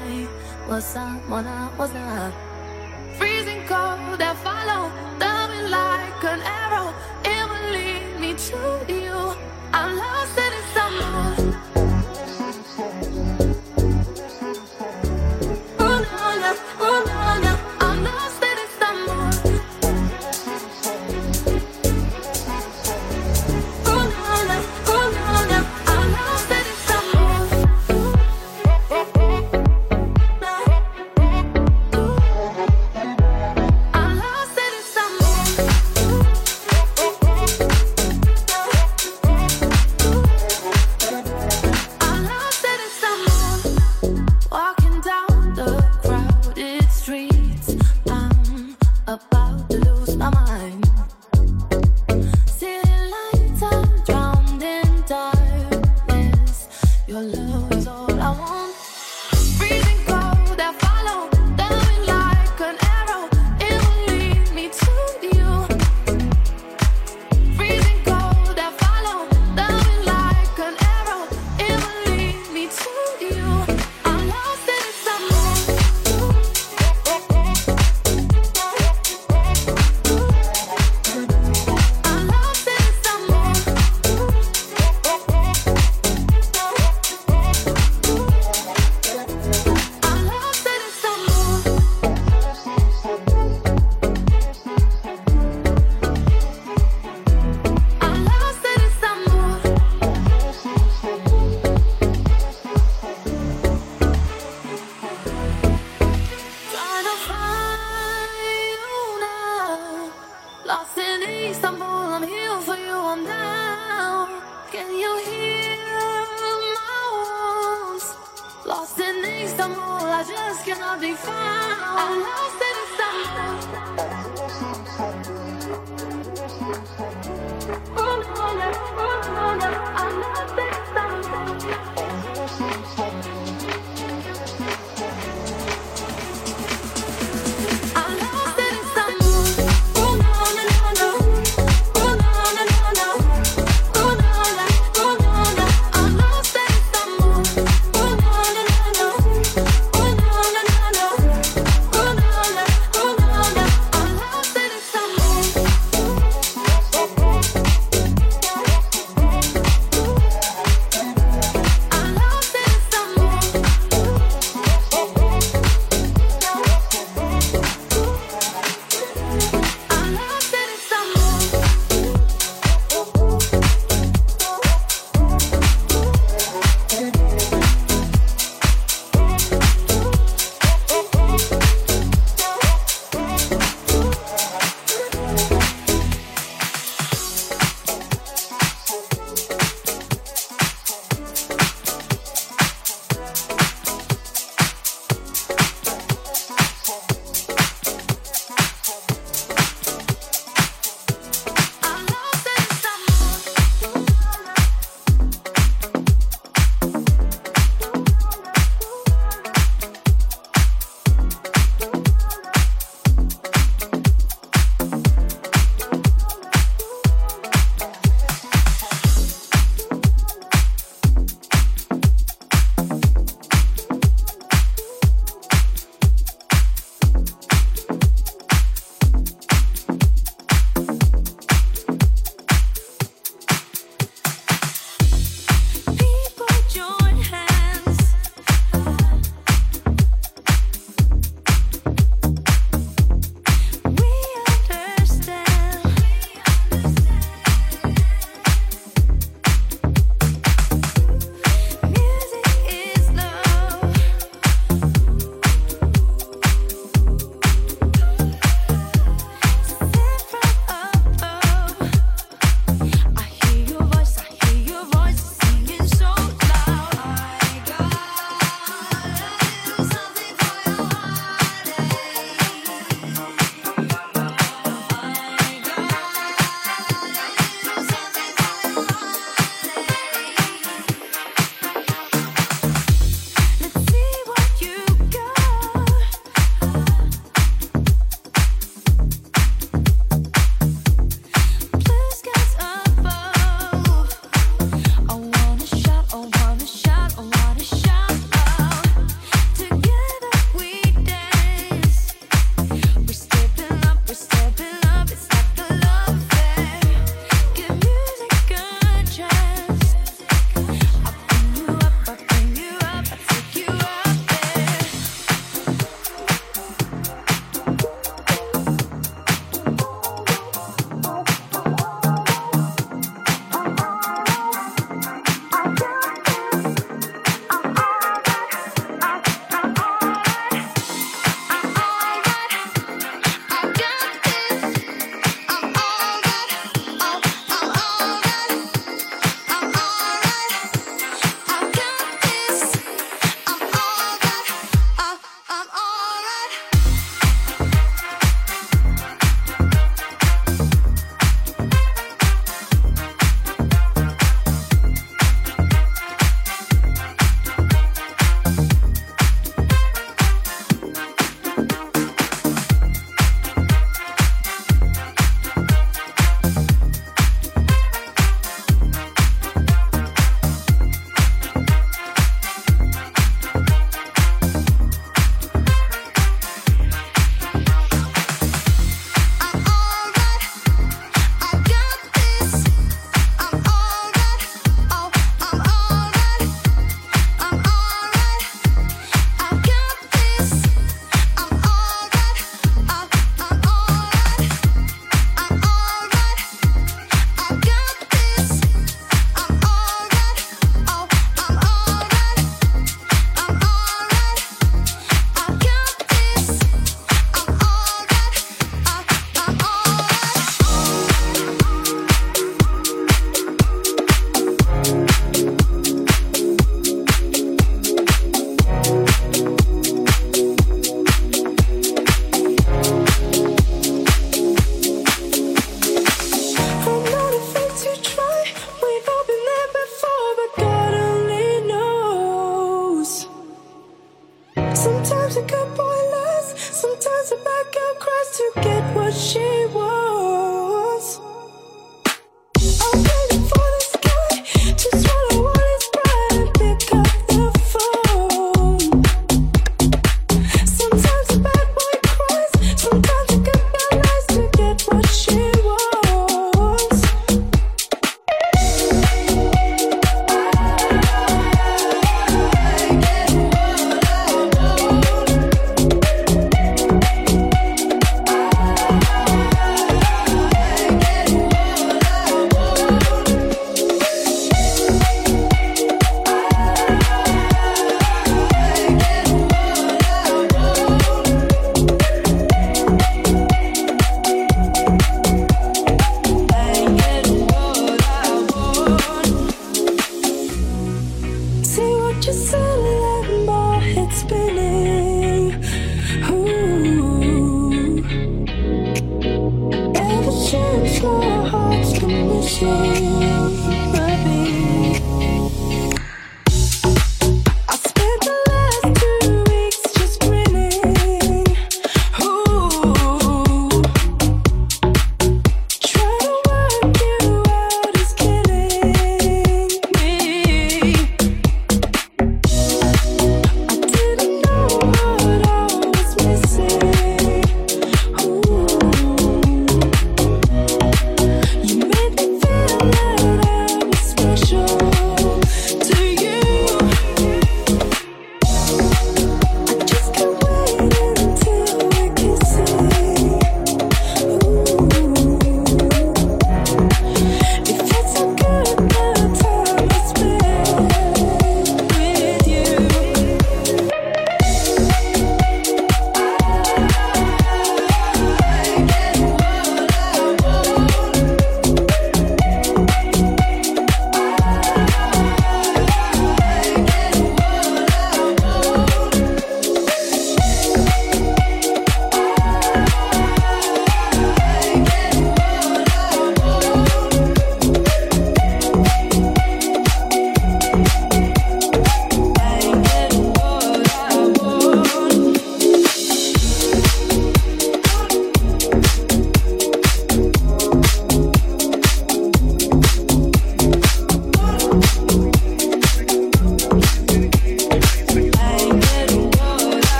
I was someone I was not. Freezing cold that follow, coming like an arrow. It will lead me to you. I'm lost in it somewhere. Sometimes a good boy lies, sometimes a bad girl cries to get what she wants. I'm waiting for this guy to swallow all his pride and pick up the phone. Sometimes a bad boy cries, sometimes a good girl lies to get what she wants. See what you're selling, my head spinning. Ooh. Ever since my heart's been missing, baby. I spent the last 2 weeks just grinning. Ooh. Trying to work you out is killing me. I didn't know what I was missing. Ooh. You made me feel that I was special to you. I just can't wait until we're kissing. Ooh. It feels so good the time I spend with you.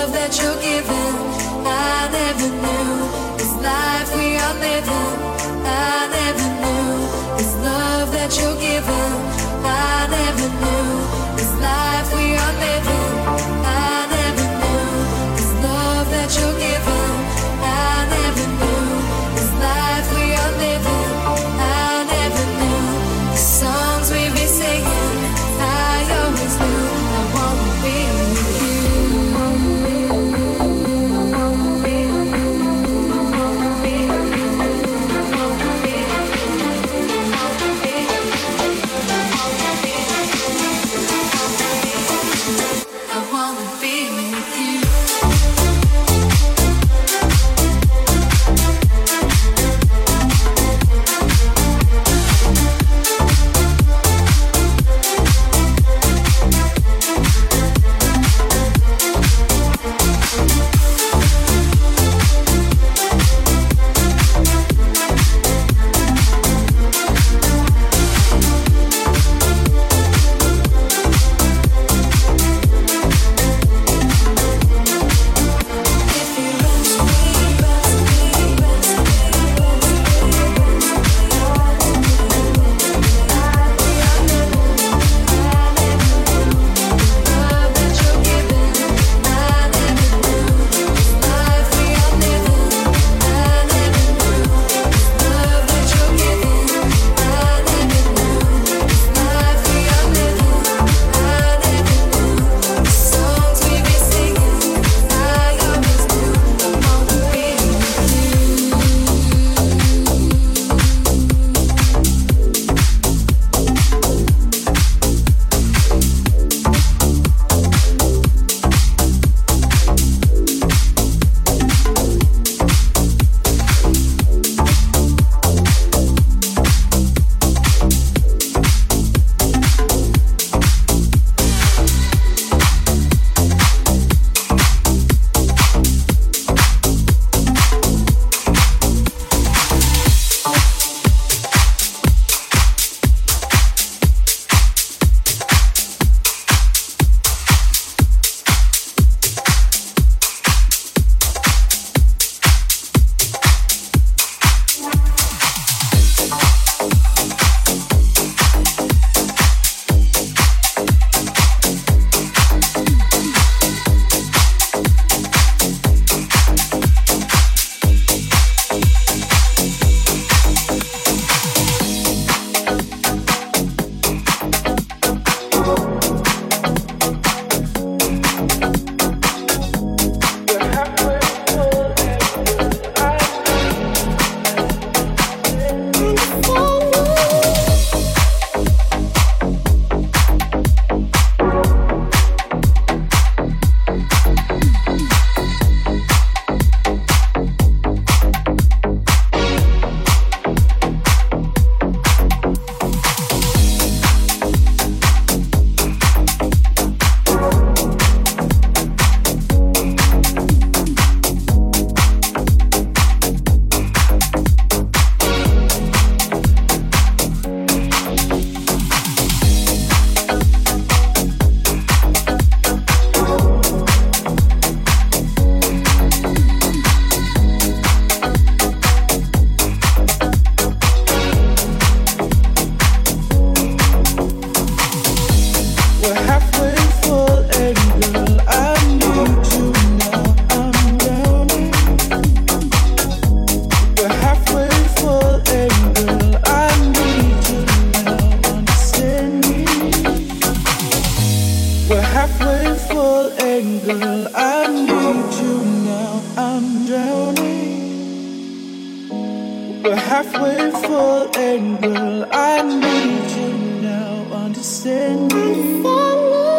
halfway full and girl, I need you now. Understand me, follow.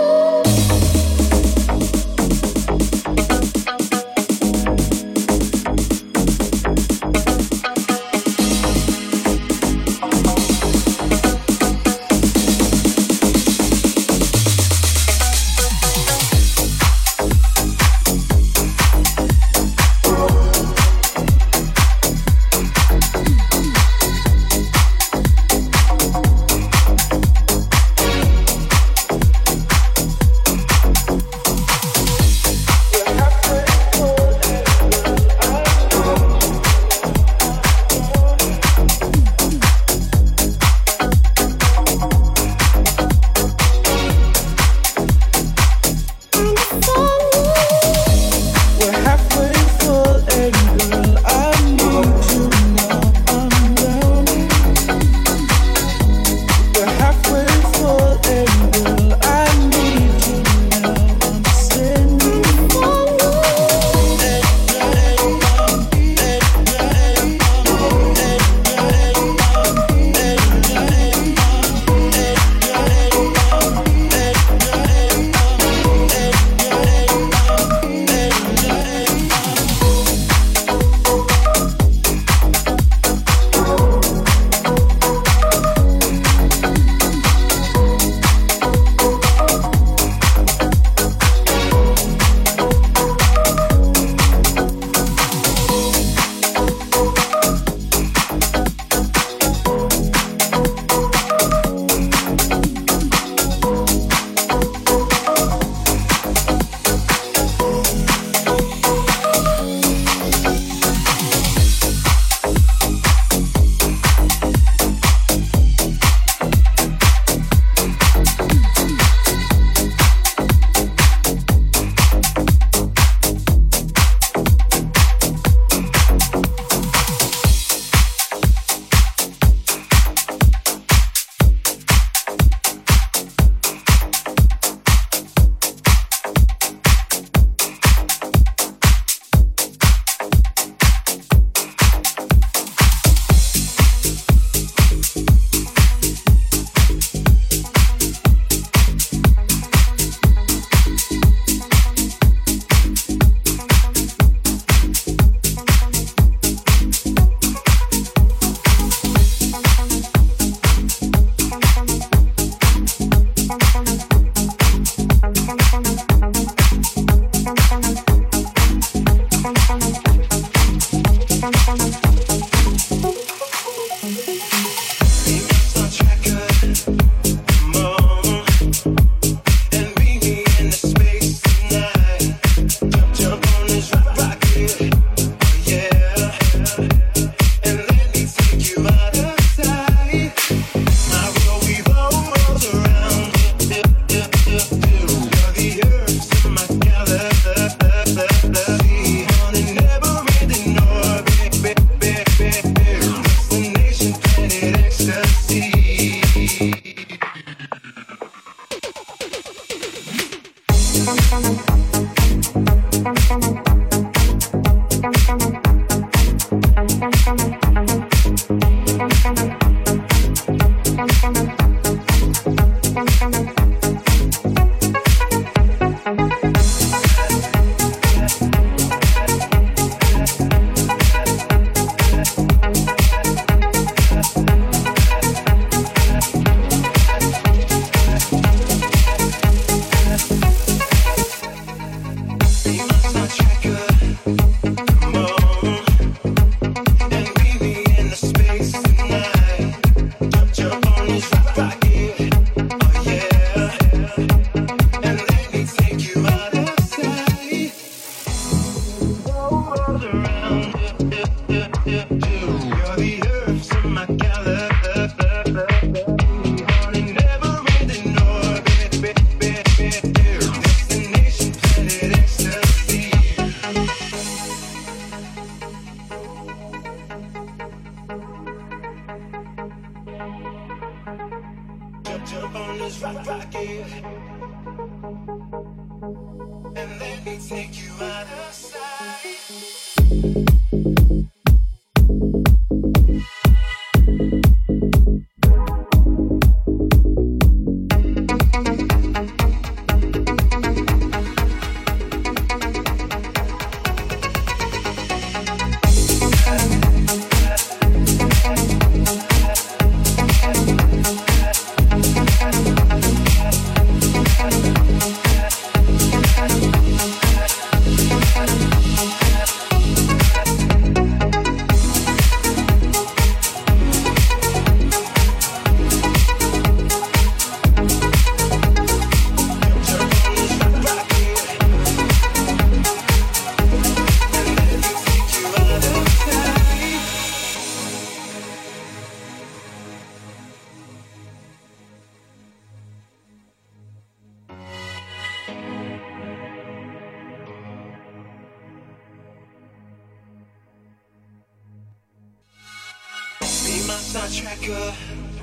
Tracker,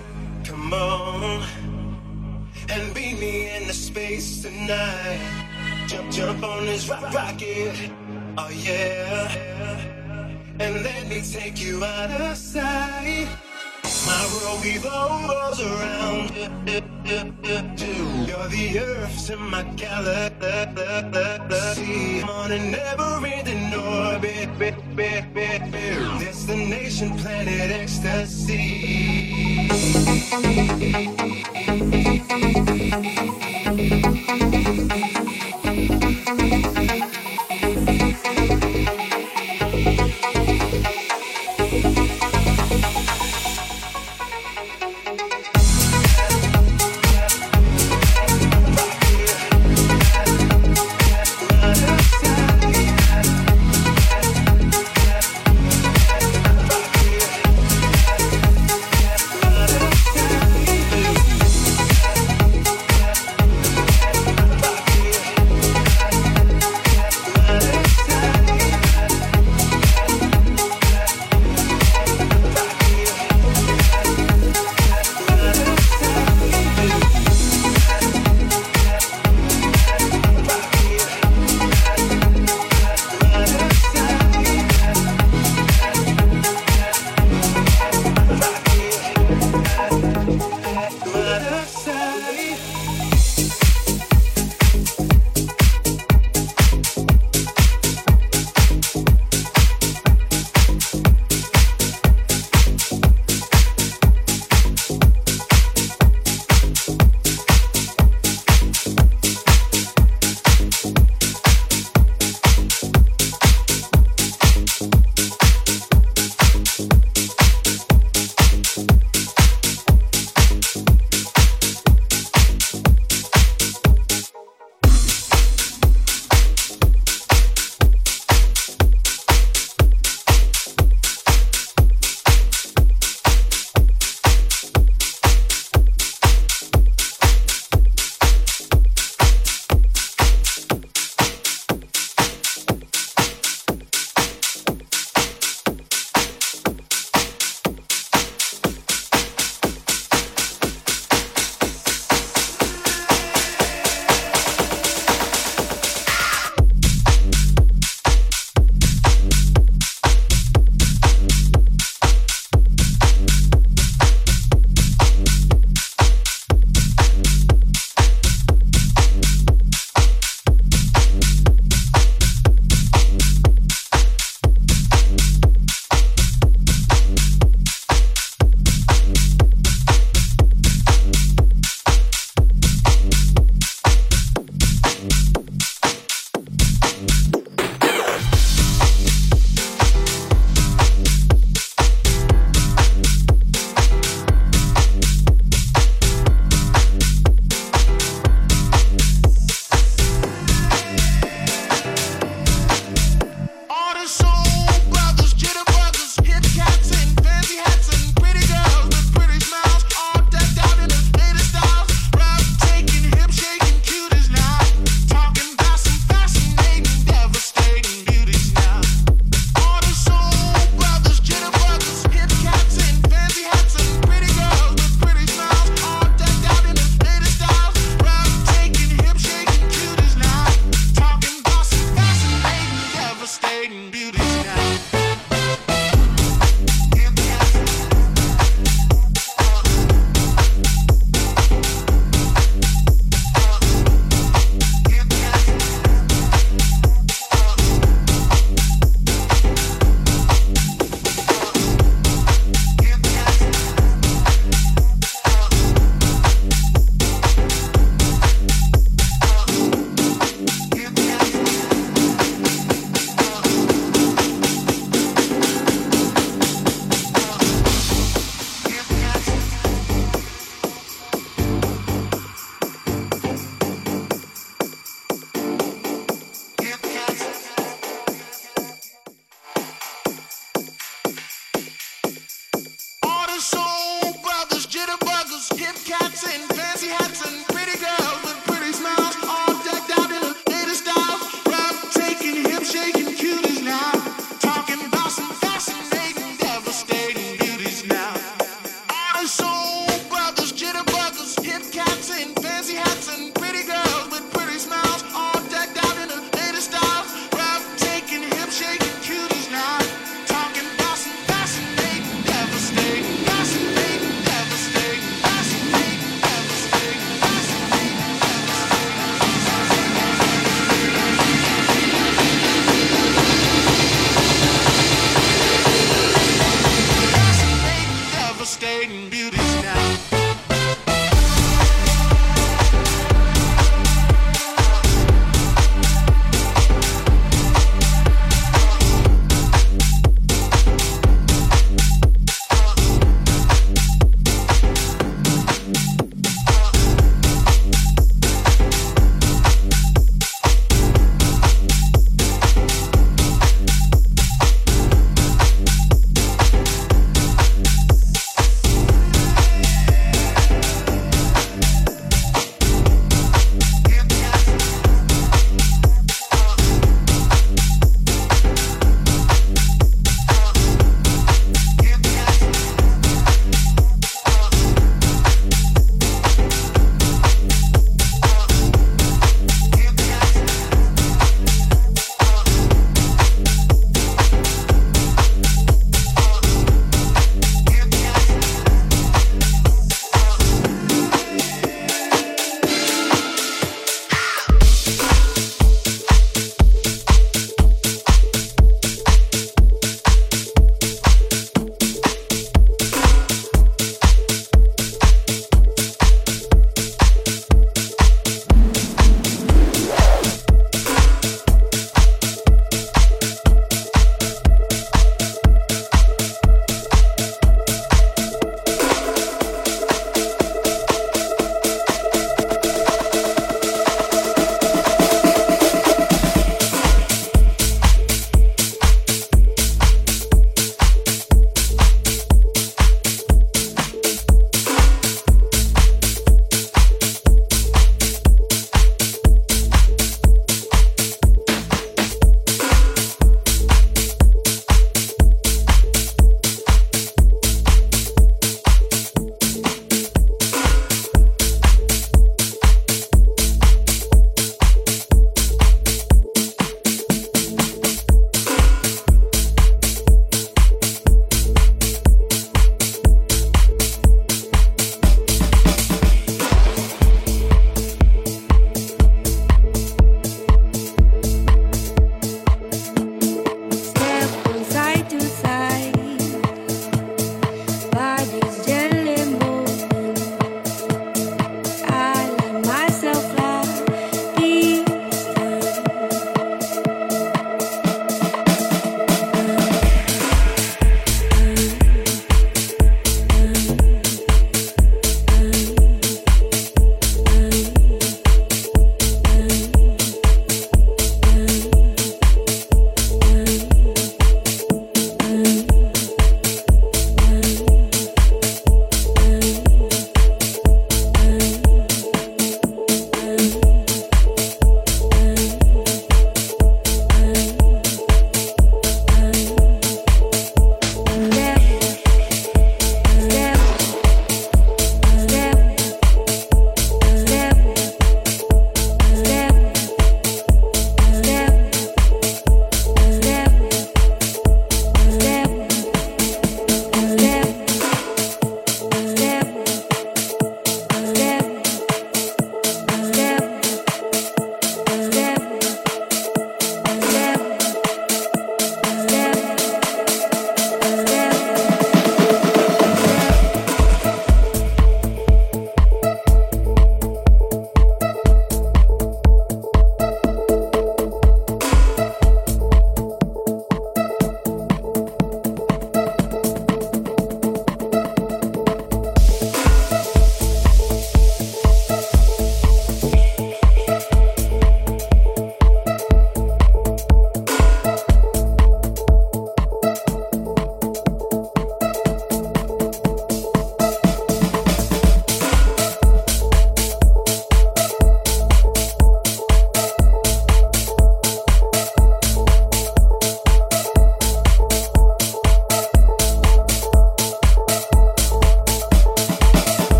come on and beat me in the space tonight. Jump on this rocket, oh yeah, and let me take you out of sight. My world revolves around you. You're the earth in my galaxy. On a never-ending orbit. Destination planet ecstasy.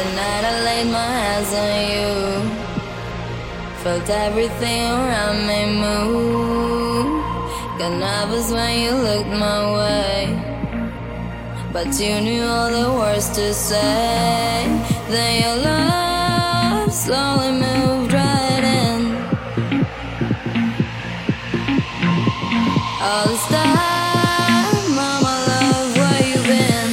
The night I laid my hands on you, felt everything around me move. Got nervous when you looked my way, but you knew all the words to say. Then your love slowly moved right in. All this time, mama love, where you been?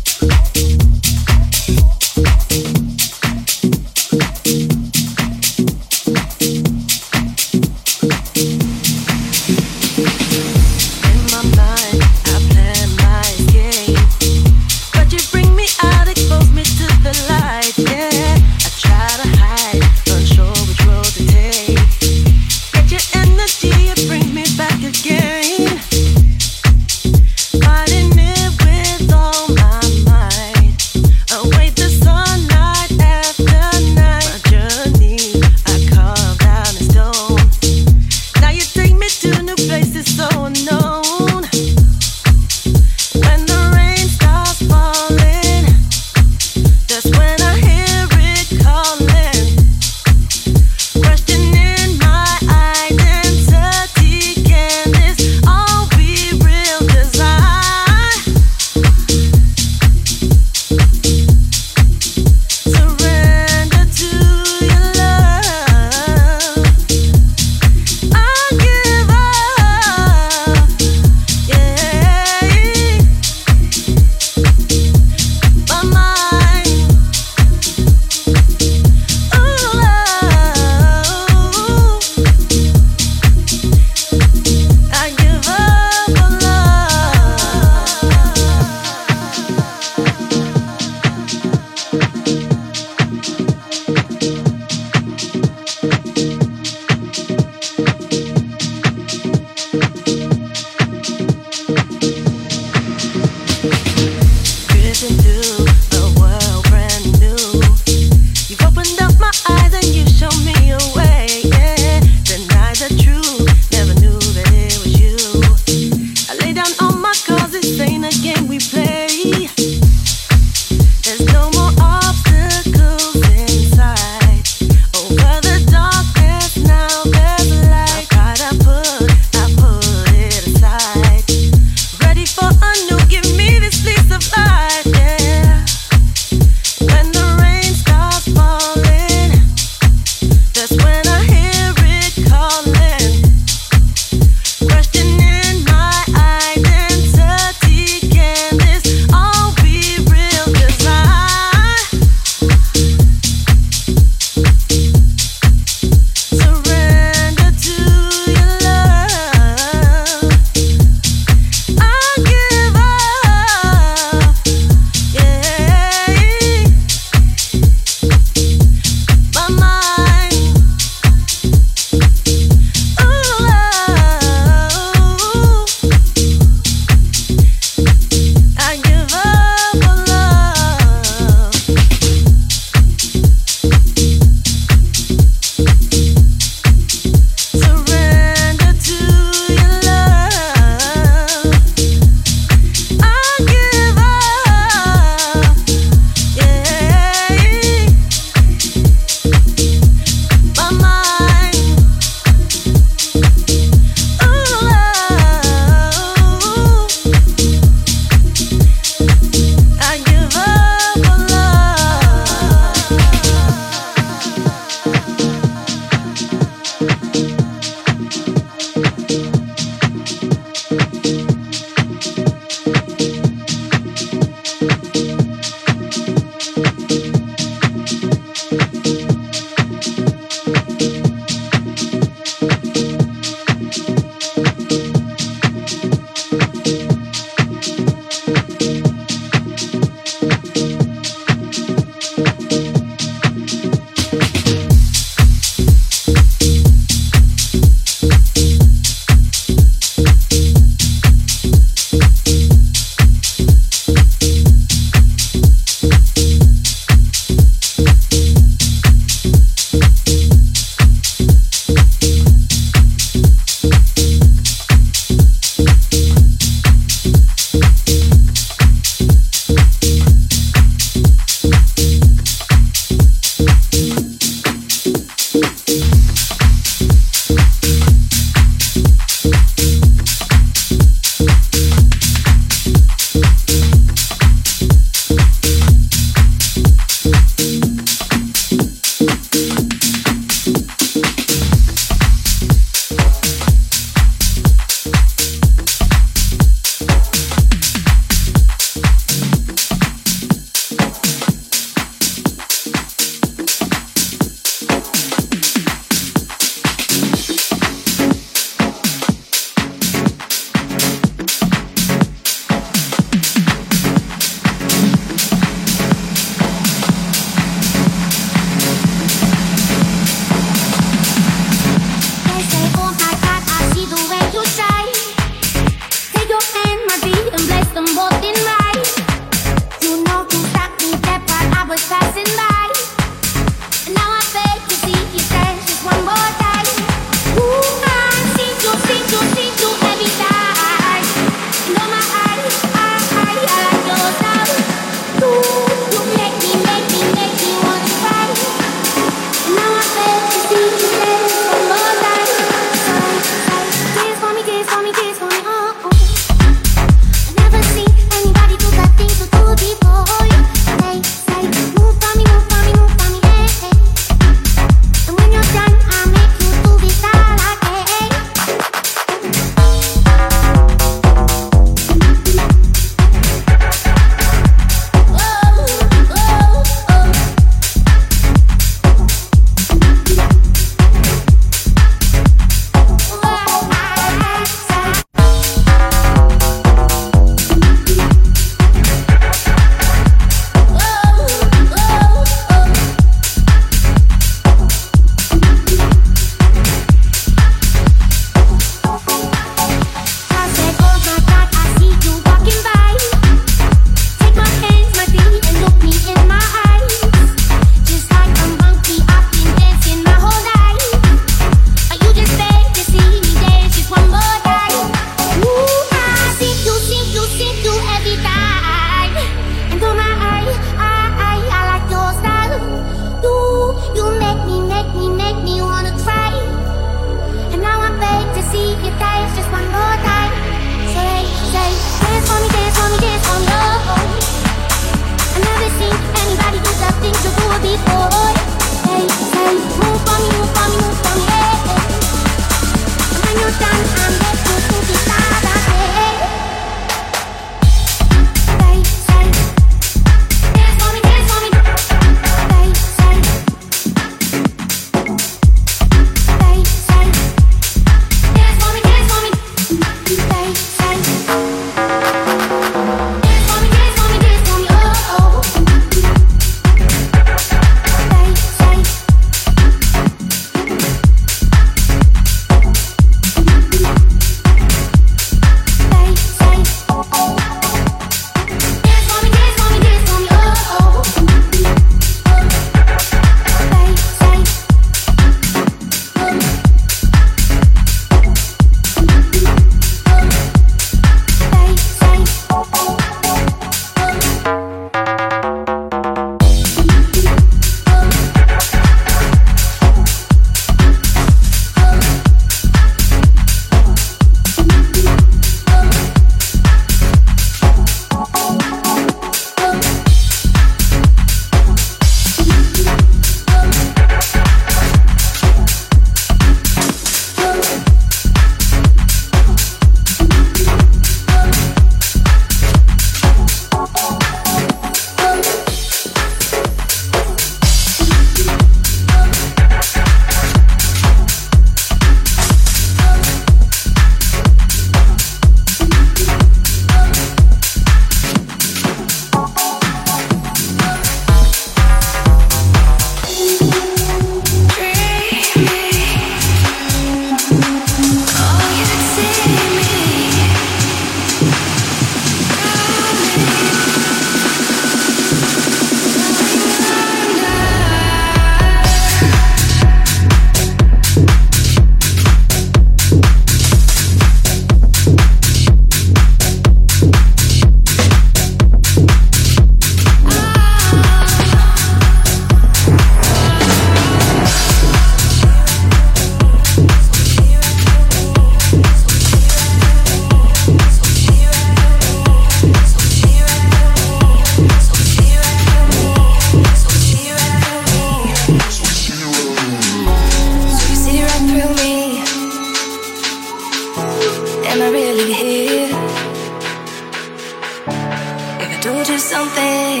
told you something,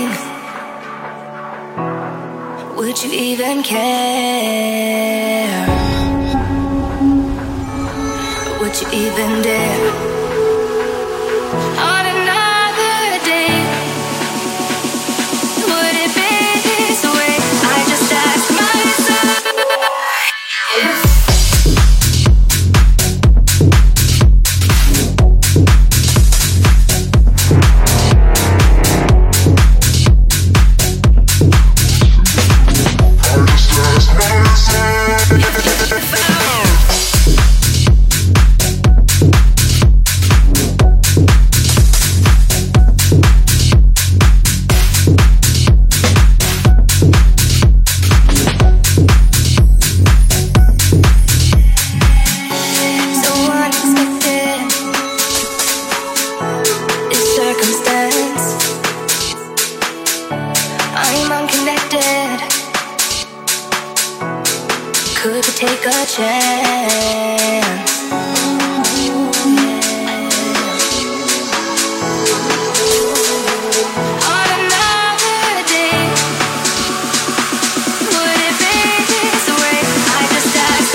would you even care? Would you even dare? On another day, would it be this way? I just ask myself if take a chance. On another day, would it be this way? I just ask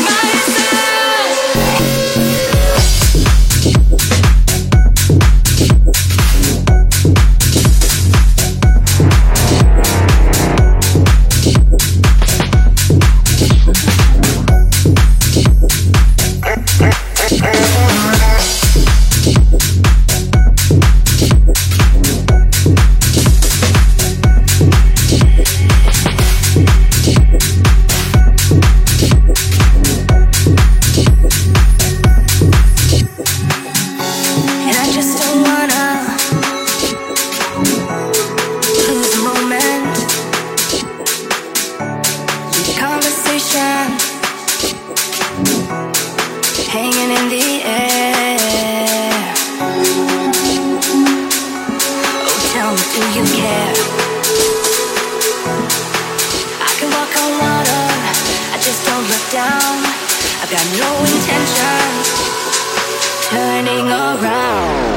hanging in the air. Oh, tell me, do you care? I can walk on water, I just don't look down. I've got no intentions turning around.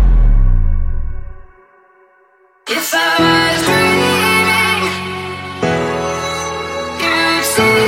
If I was dreaming, you'd see.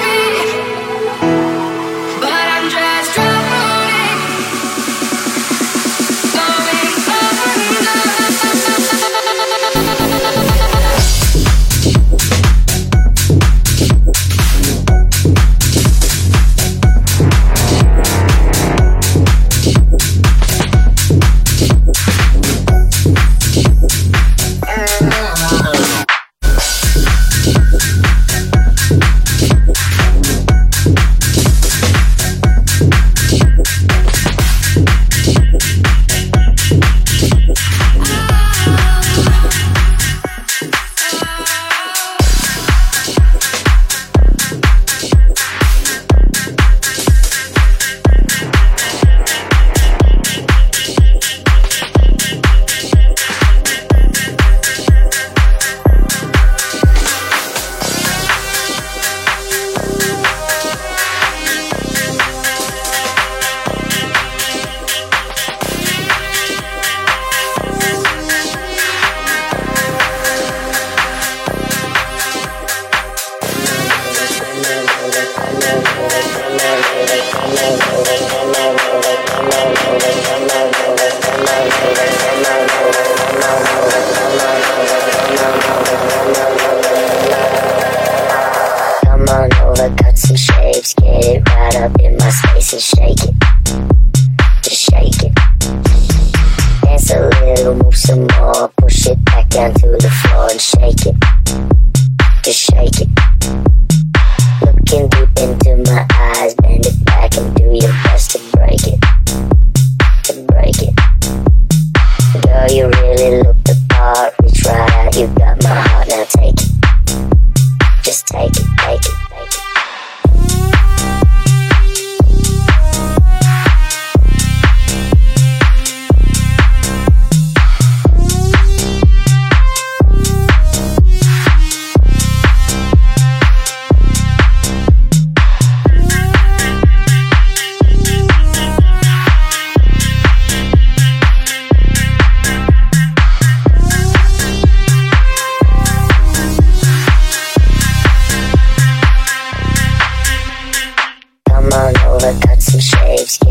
Come on over, cut some shapes, get it right up in my space and shake it. Just shake it. Dance a little, move some more, push it back down to the floor and shake it. Just shake it. Looking deep into my eyes, bend it back and do your best to break it. To break it. Girl, you really look the part, reach right out, you got my heart, now take it. Just take it, take it, take it.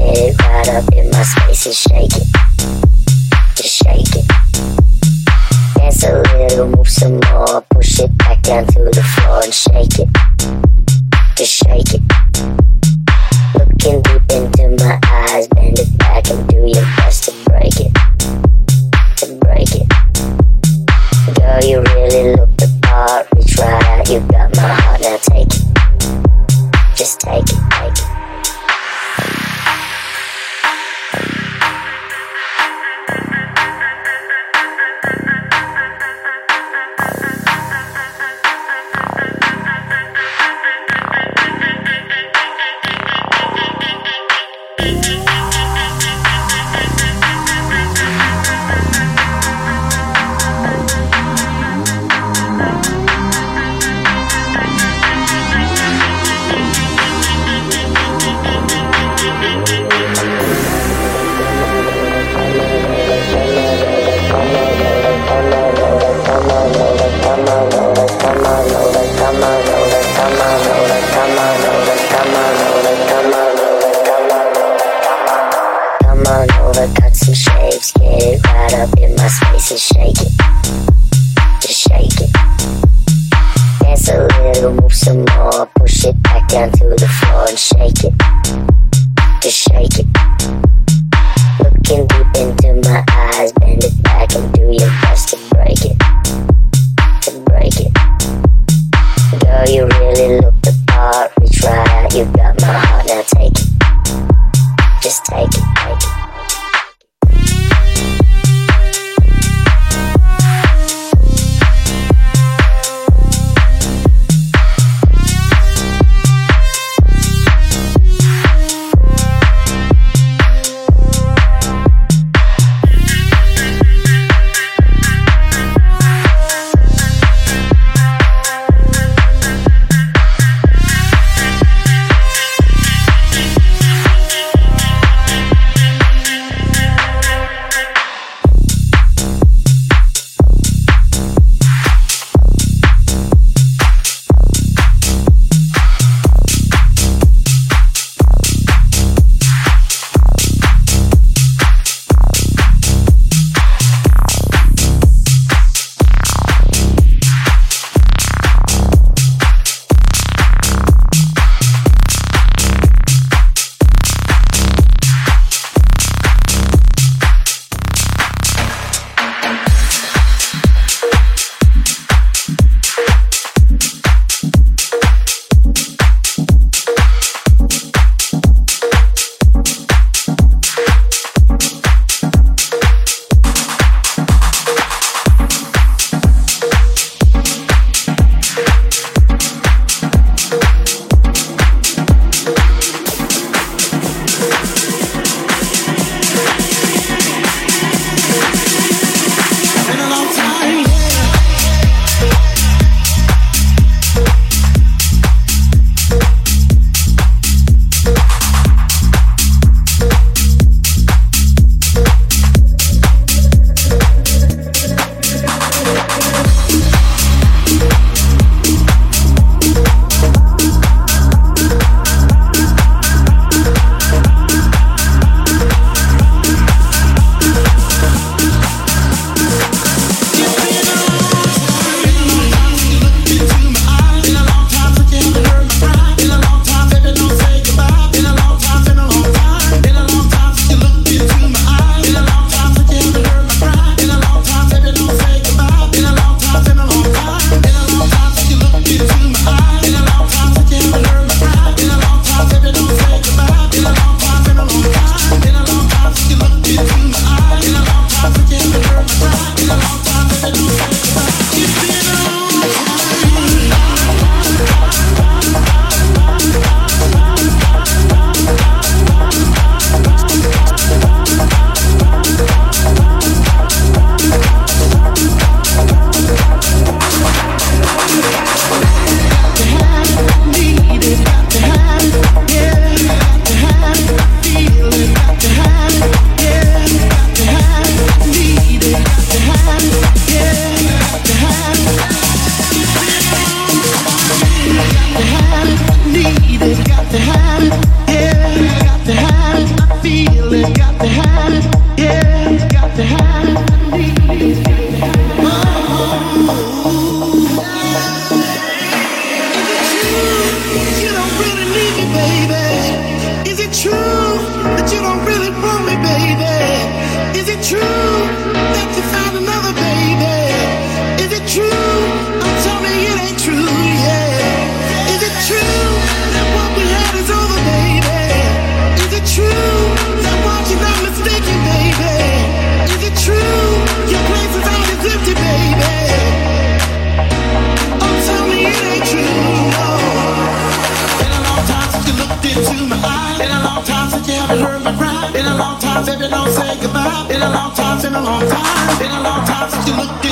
get it right up in my space and shake it. Just shake it. Dance a little, move some more. Push it back down to the floor and shake it. Just shake it. Looking deep into my eyes, bend it back and do your best to break it. To break it. Girl, you really look the part. Reach right out, you got my heart, now take it. Just take it, take it. Cut some shapes, get it right up in my space and shake it. Just shake it. Dance a little, move some more. Push it back down to the floor and shake it. Just shake it. Looking deep into my eyes, bend it back and do your best to break it. To break it. Girl, you really look the part. Reach right out, you got my heart, now take it. Just take it, take it.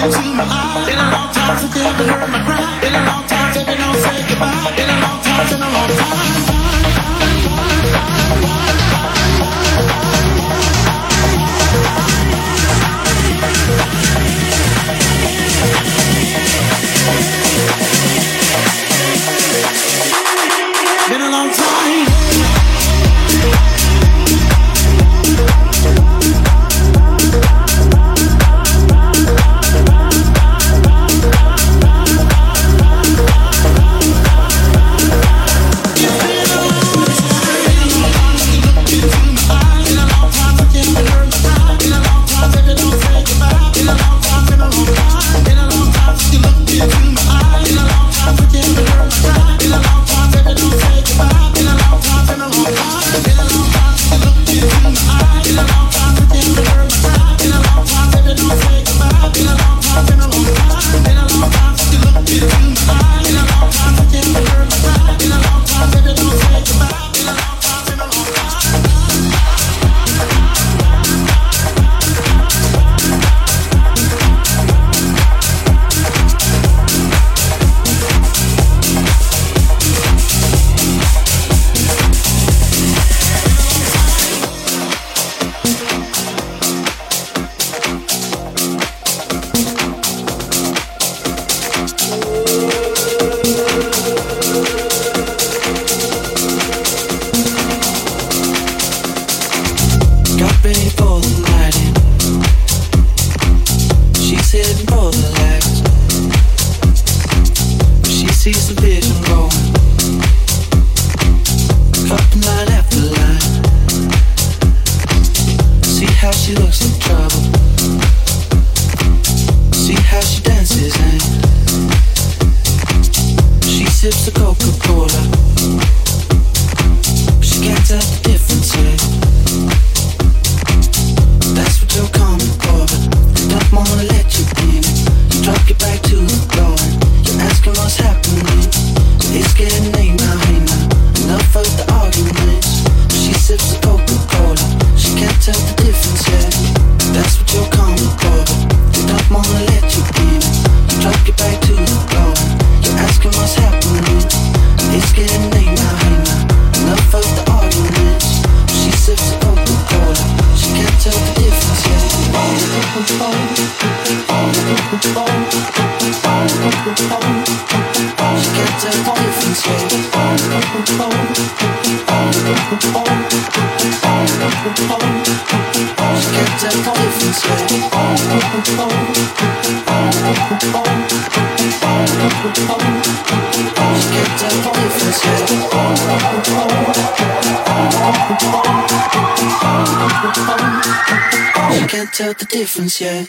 Tell the difference yet.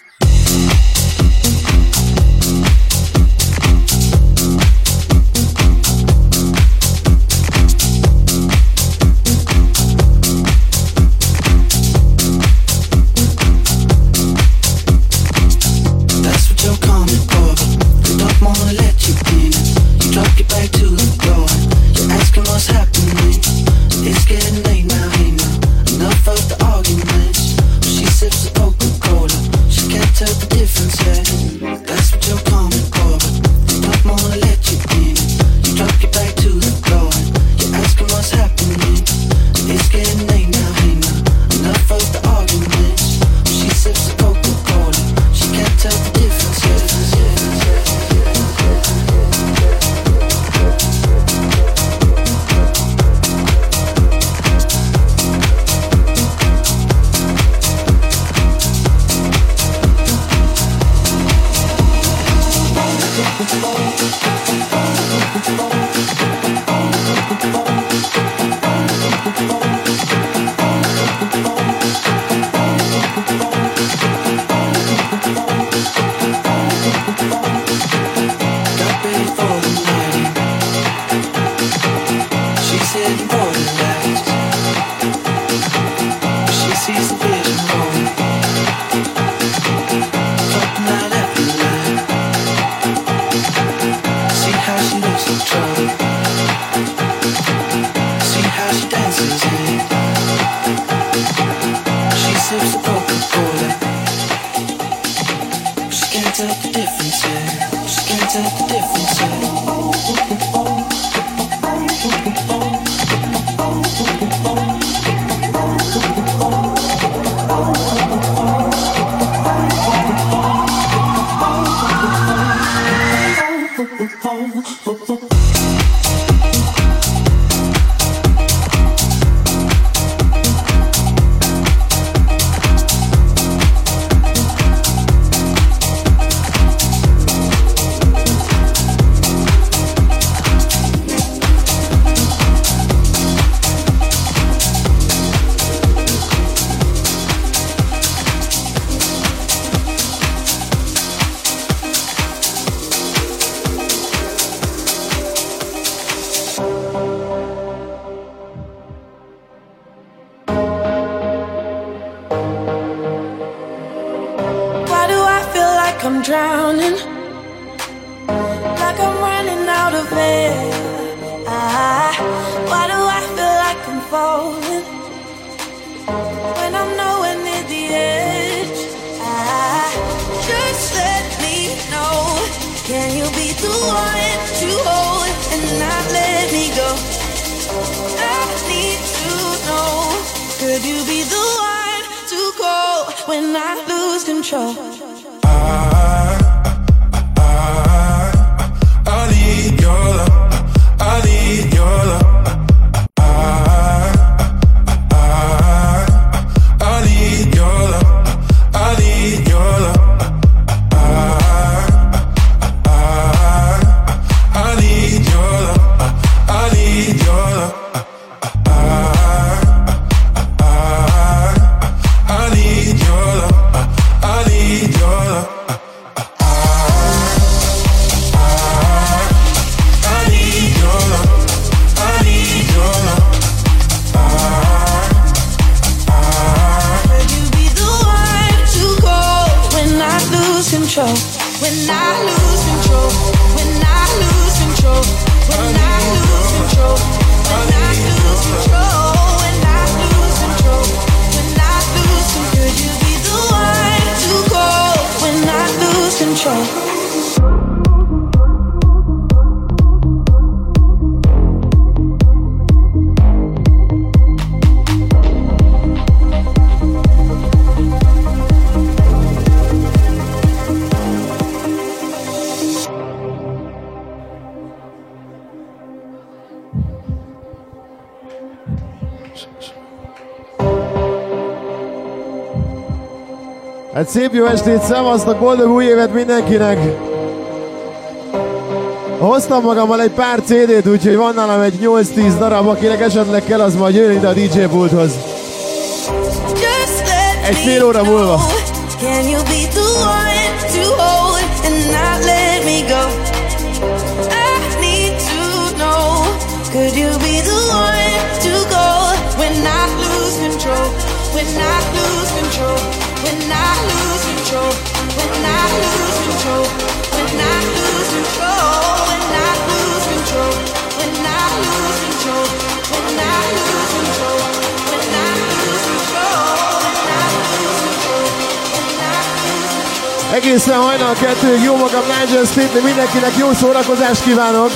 That's what you're coming for, but they don't wanna let you in. You drop your back to the floor. You're asking what's happening. It's getting late now, hey now. Enough of the arguments. She sips the Coca-Cola. She can't tell the difference yet. That's what you're coming for, but they don't wanna let you in. You drop your back to the floor. You're asking what's happening. It's getting late now, hey now. Enough of the arguments. She sips the Coca-Cola. She can't tell the difference yet. Trouble. difference yet. Just can't tell the difference yet. I'm drowning, like I'm running out of air. Why do I feel like I'm falling when I'm nowhere near the edge? Just let me know, can you be the one to hold and not let me go? I need to know, could you be the one to call when I lose control? I need your love. I need your love. I need your love. I need your love. I need your love. I need your love. I need your love. I need your love. When I lose control, when I lose control, when I lose control, when I lose control, when I lose control, when I lose control, could you be the one to call when I lose control? Hát szép jó estét, szevasztok, boldog új évet mindenkinek! Hoztam magammal egy pár CD-t, úgyhogy van nálam egy 8-10 darab, akinek esetleg kell, az majd jön ide a DJ pulthoz. Egy fél óra múlva. Can you be the one to hold and not let me go? I need to know, could you be the one to go when I lose control, when I lose control, when I lose control, when I lose control, when I lose control, when I lose control, when I lose control, when I lose control, when I lose control, when I lose control, when I lose control. Egészen hajnal 2-ig jó magam Nigel State, mindenkinek jó szórakozást kívánok!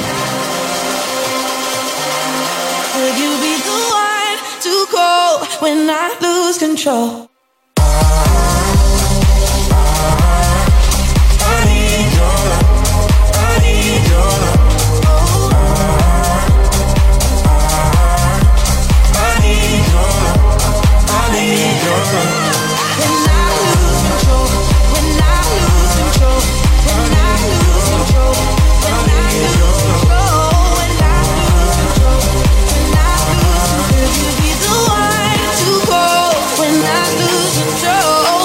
Could you be the one to call when I lose control? Could you be the one to call when I lose control?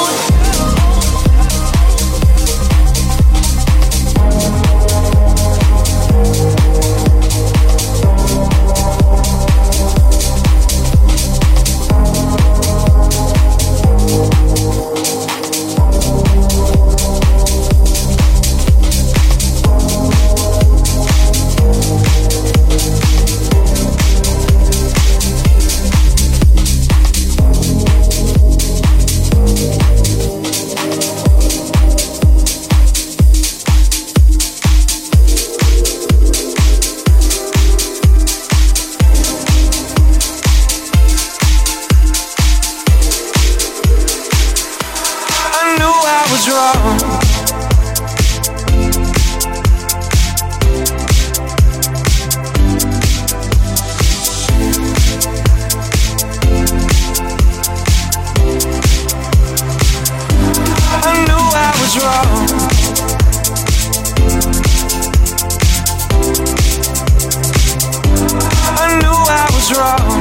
was wrong.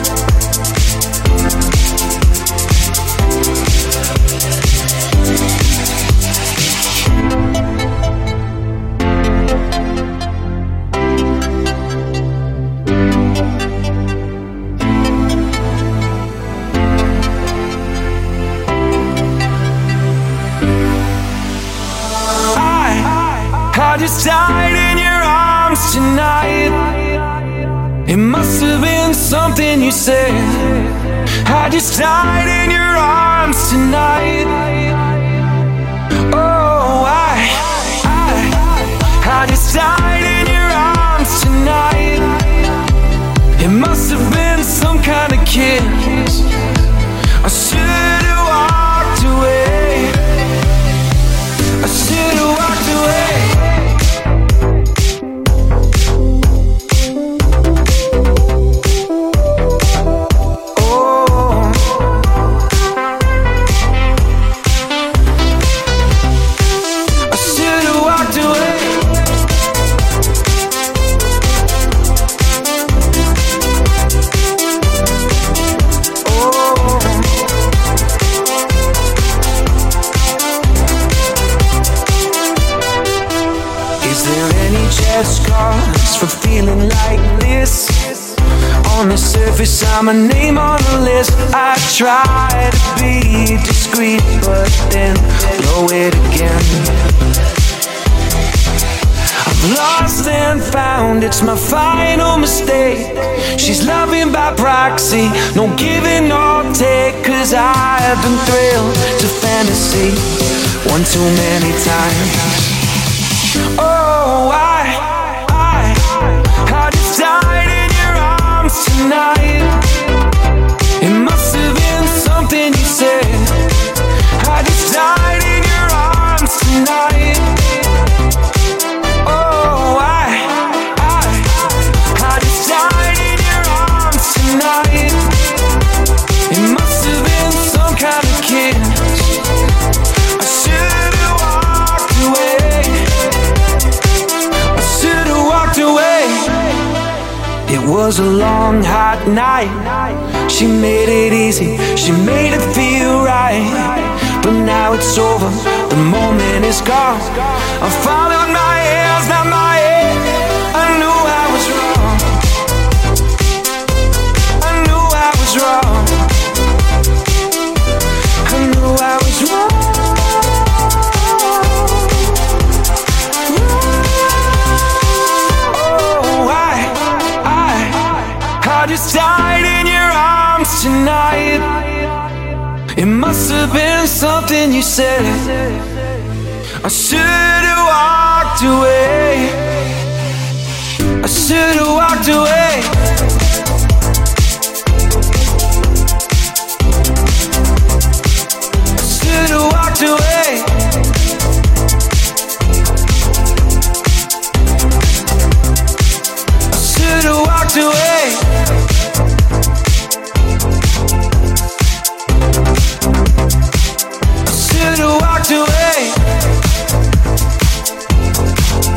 I just died in your arms tonight. It must have been something you said. I just died in your arms tonight. Oh, I just died in your arms tonight. It must have been some kind of kiss. I should have walked away. I should have walked away. Scars for feeling like this. On the surface, I'm a name on the list. I try to be discreet, but then blow it again. I've lost and found, it's my final mistake. She's loving by proxy, no giving or take. Cause I've been thrilled to fantasy one too many times. Oh, I just died in your arms tonight. It must have been something you said. I just died in your arms tonight. Oh, I just died in your arms tonight. It must have been some kind of kiss. I should have walked away. I should have walked away. It was a long, hot night. She made it easy, she made it feel right. But now it's over, the moment is gone. I followed my hands, not my head. I knew I was wrong. I knew I was wrong. I knew I was wrong. I just died in your arms tonight. It must have been something you said. I should have walked away. I should have walked away. I should have walked away. I should have walked away. Walked away.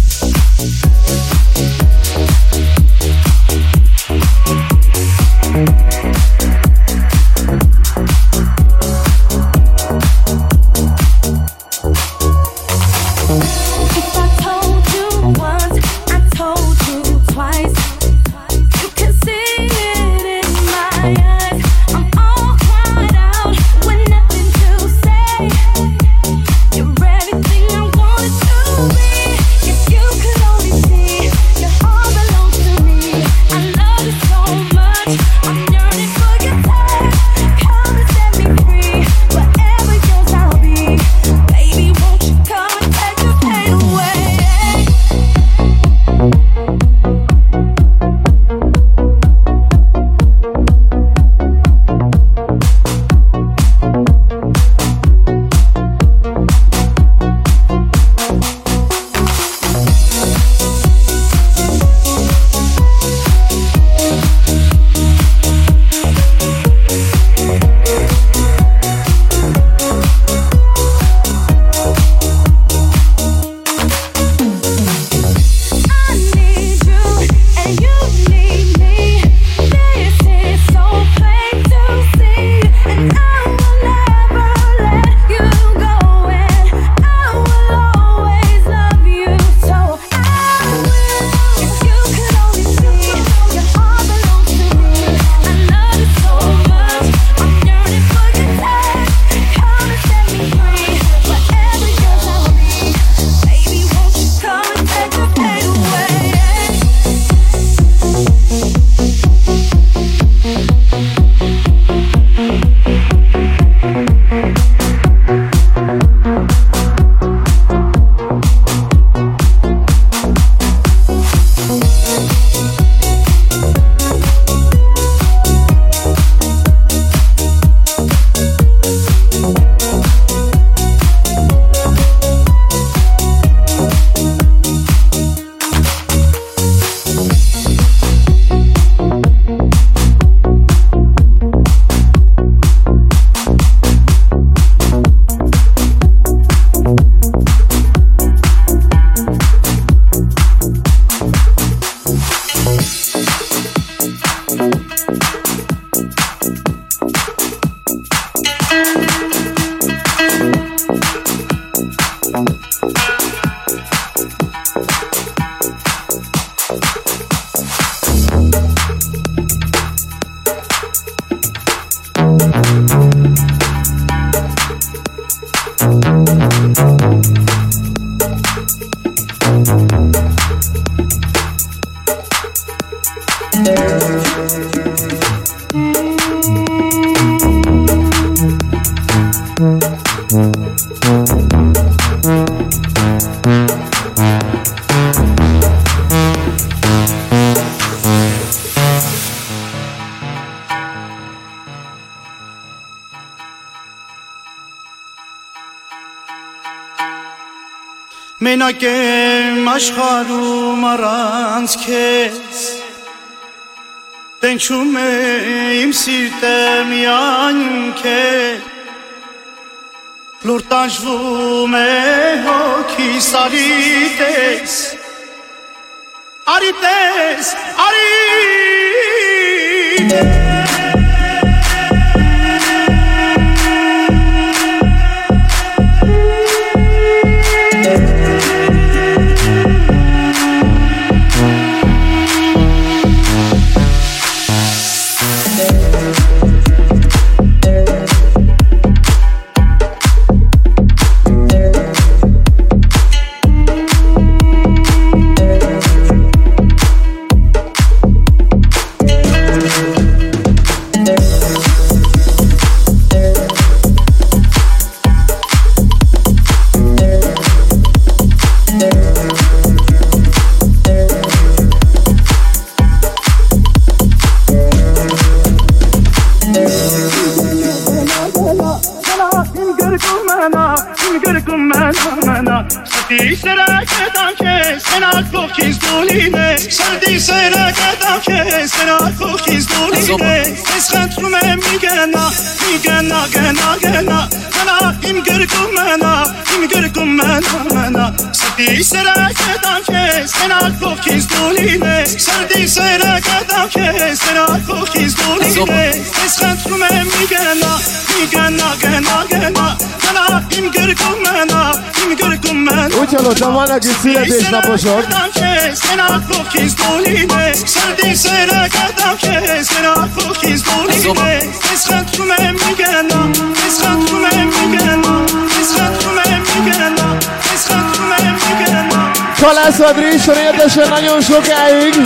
մենակ եմ աշխարհում առանց քեզ տենչում է իմ սիրտը միայն քեզ լուր տանջվում է հոգիս արի տես mena Sadi sera kadam ke sena kokiz doline Sadi sera kadam ke sena kokiz doline Eschat rumem migena Gena im görgum mena Úgy hallottam, vannak itt születésnaposok. Sena kokiz doline Sadi sera kadam ke sena kokiz doline Eschat rumem migena Eschat rumem migena Kalász Adrison érdesen nagyon sokáig.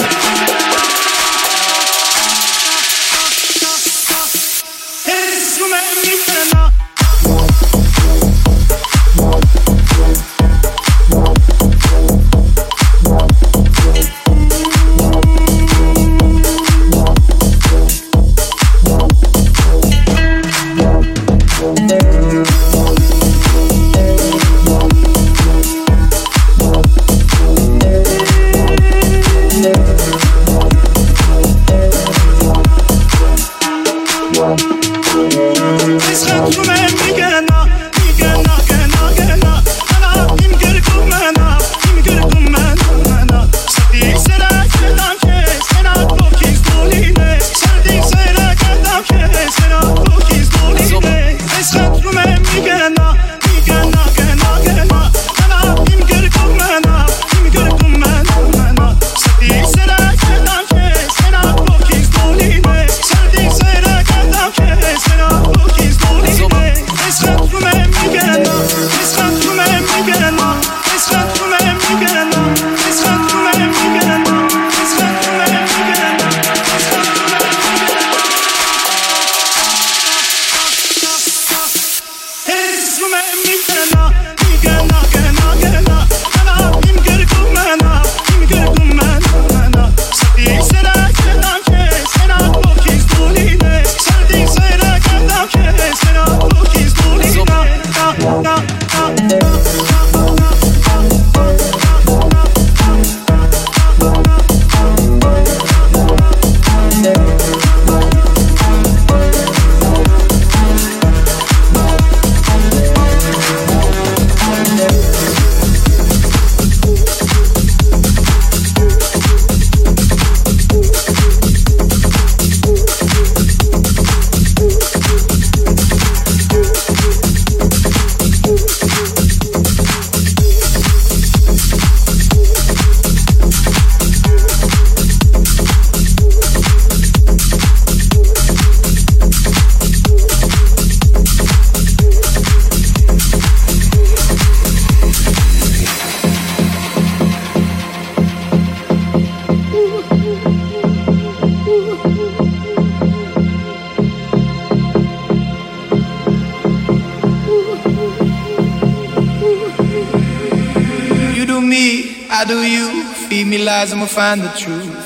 I'ma find the truth.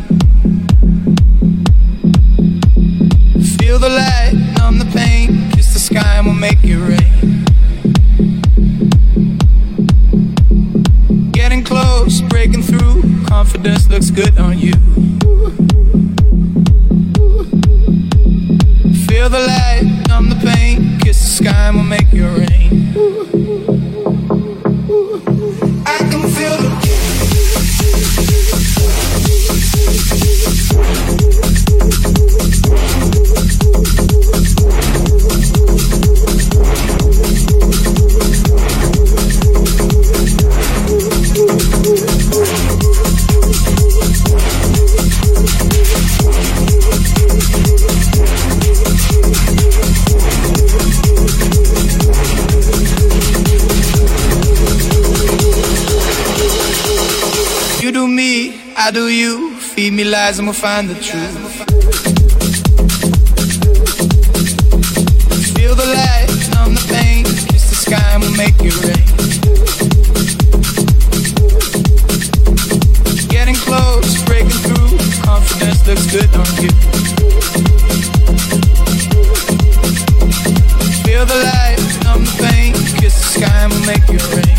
Feel the light, numb the pain. Kiss the sky and we'll make it rain. Getting close, breaking through. Confidence looks good on you. Feel the light, numb the pain. Kiss the sky and we'll make it rain. I can feel the I do you, feed me lies and we'll find the truth. Feel the light, numb the pain, kiss the sky and we'll make it rain. Getting close, breaking through, confidence looks good on you. Feel the light, numb the pain, kiss the sky and we'll make it rain.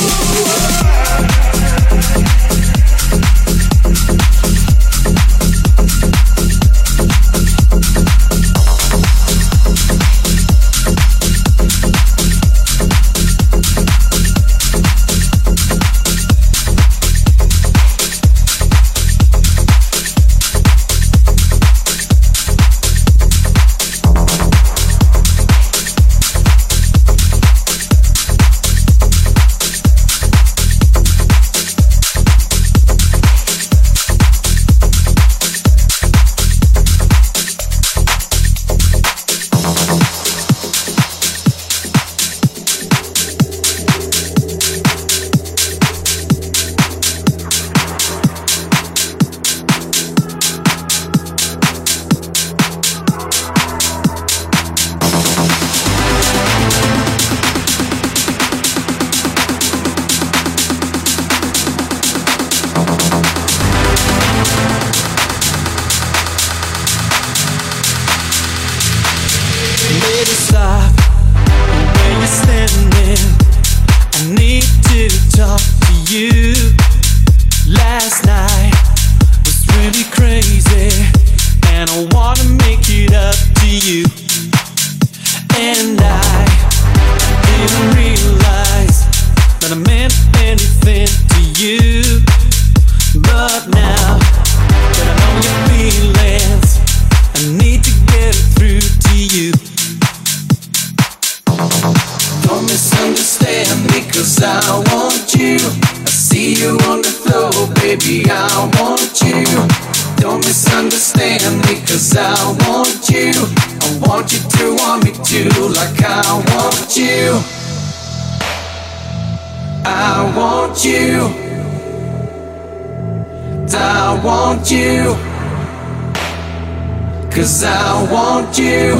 'Cause I want you.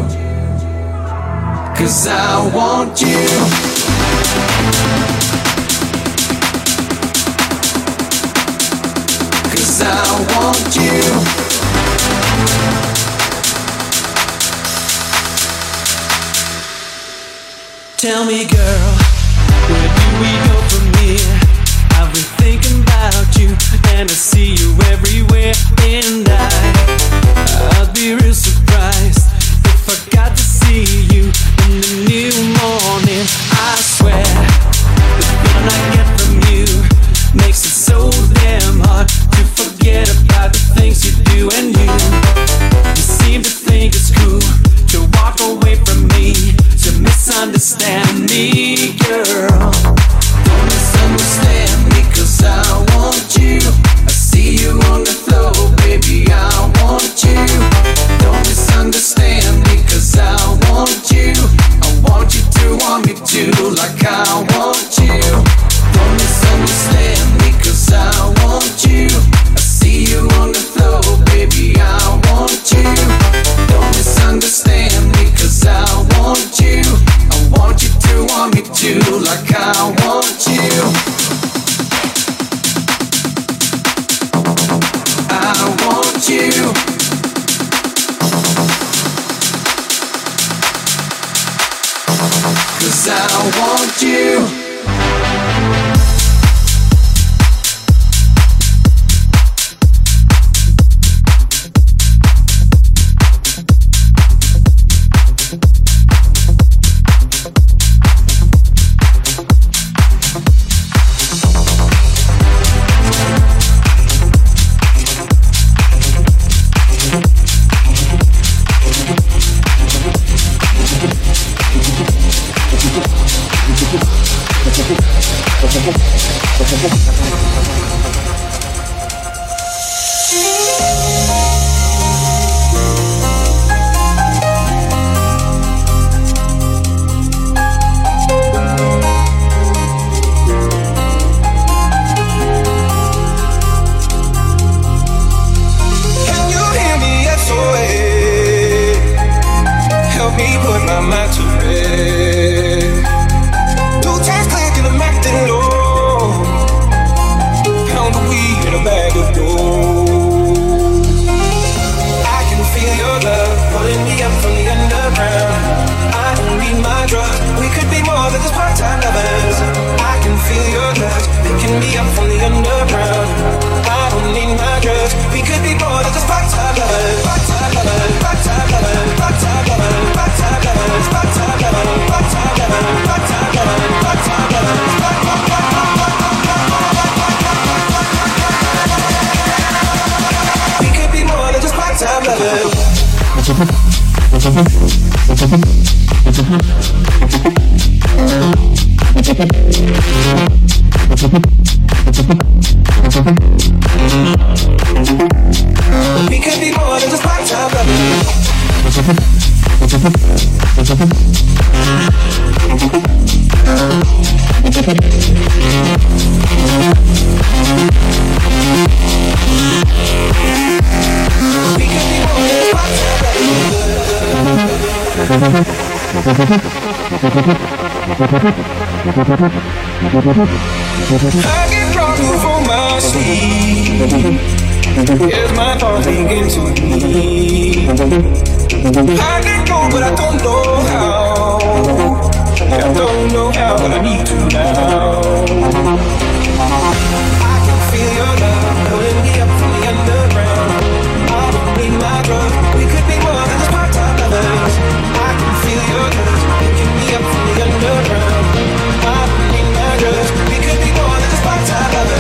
'Cause I want you. 'Cause I want you. Tell me, girl, where do we go from here? I've been thinking about you, and I see you everywhere. And I'd be real surprised if I got to see you in the new morning. I swear, the feeling I get from you makes it so damn hard to forget about the things you do. And you seem to think it's cool to walk away from me, to misunderstand me, girl. Don't misunderstand me, 'cause I want you. I see you on the floor, baby, I want you. Don't misunderstand me, 'cause I want you. I want you to want me too, like I want you. Don't misunderstand me, 'cause I want you. I see you on the floor, baby, I want you. Don't misunderstand me, 'cause I want you. I want you to want me too, like I want you. I want you. 'Cause I want you. We could be more than just part-time lovers. I get drunk from my sleep. Here's my thoughts begin to me. I can go, but I don't know how. I don't know how, but I need to now. I can feel your love pulling me up from the underground. I don't need my drugs. We could be more than just part-time lovers. I can feel your touch picking me up from the underground. I don't need my drugs. We could be more than just part-time lovers.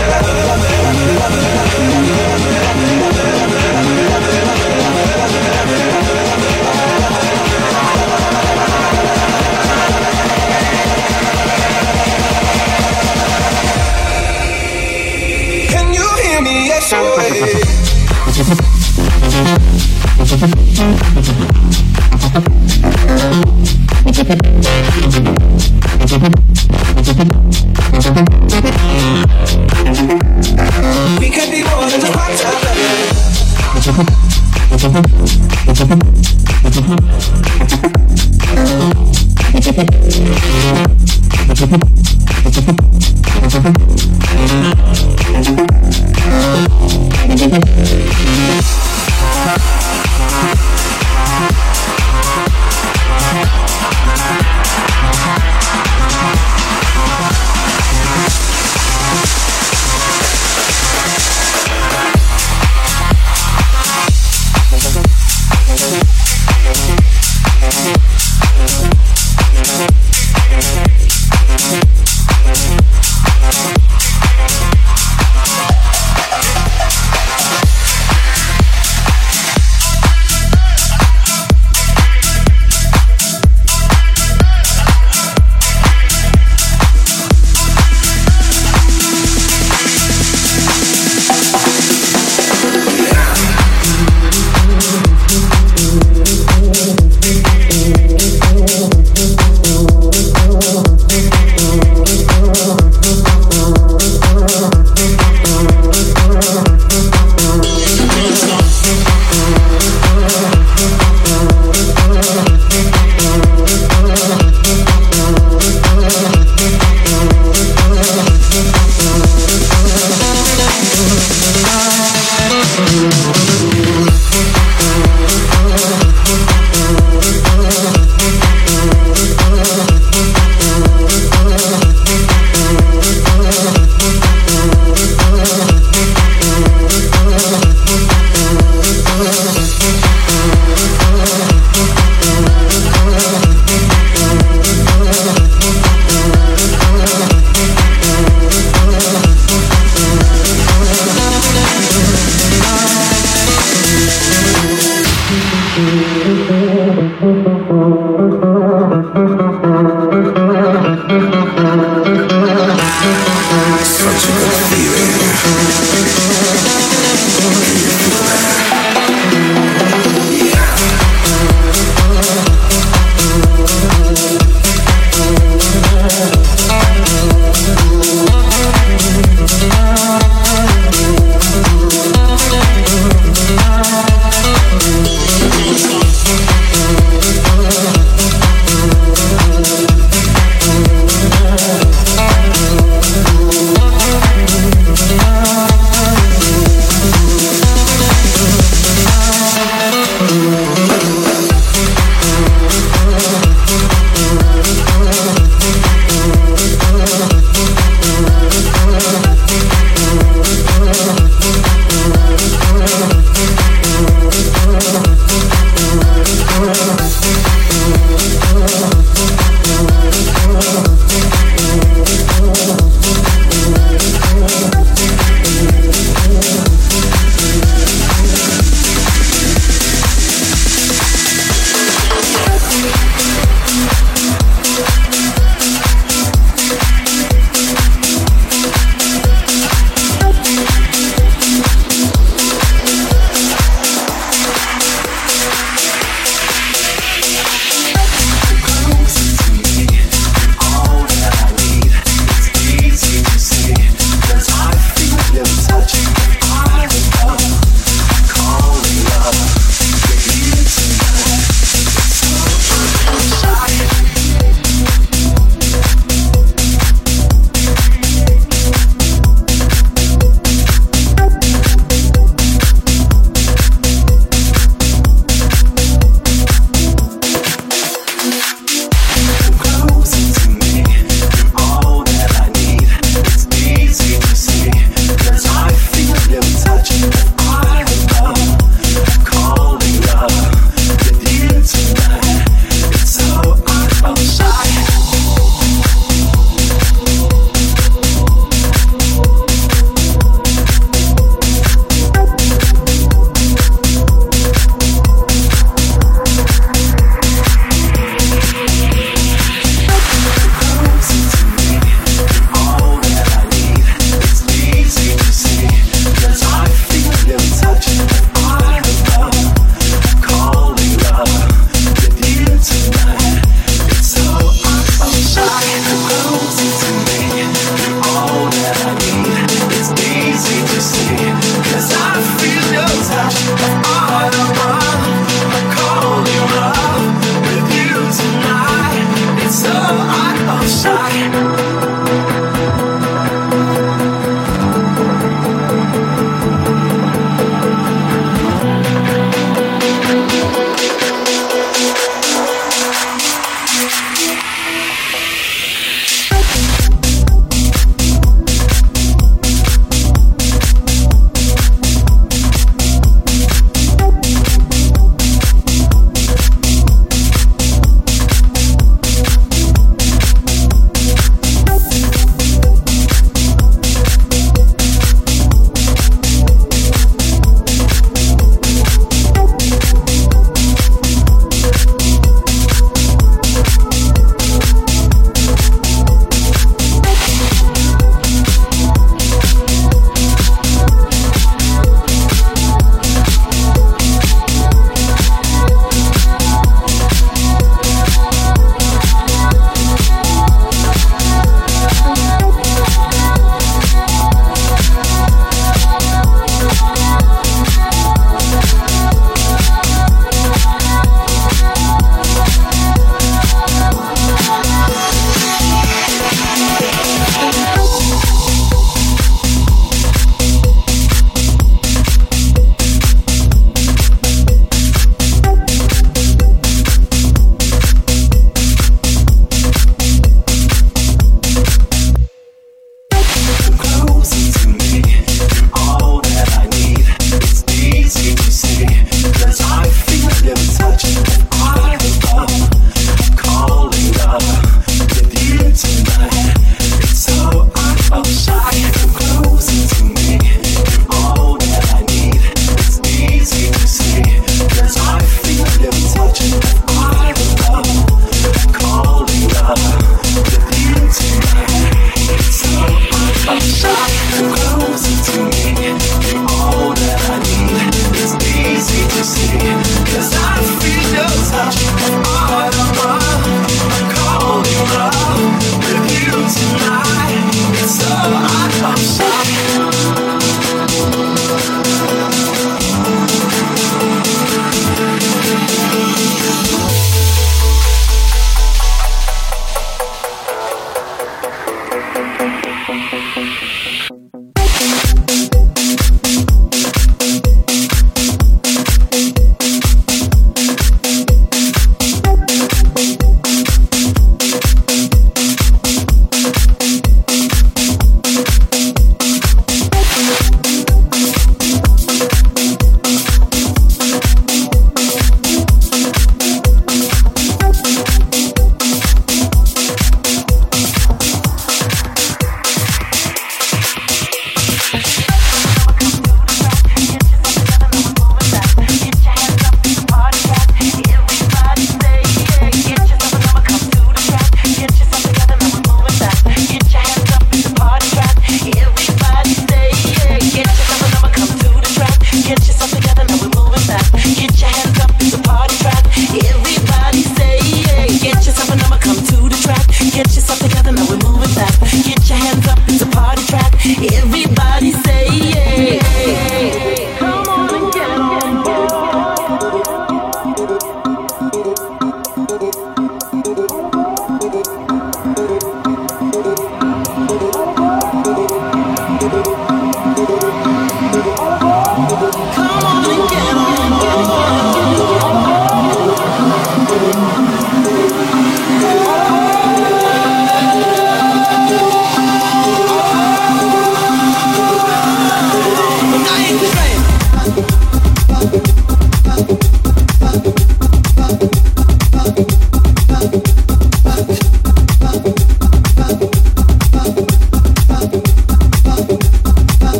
Can you hear me? Yes, we could be more than just part-time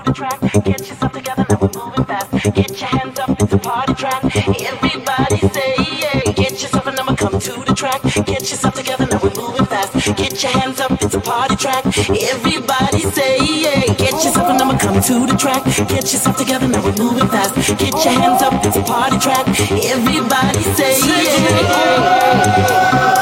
the track. Get yourself together, now we're moving fast. Get your hands up, it's a party track. Everybody say yeah. Get yourself a number, come to the track. Get yourself together, now we're moving fast. Get your hands up, it's a party track. Everybody say yeah. Get yourself a number, come to the track. Get yourself together, now we're moving fast. Get your hands up, it's a party track. Everybody say yeah.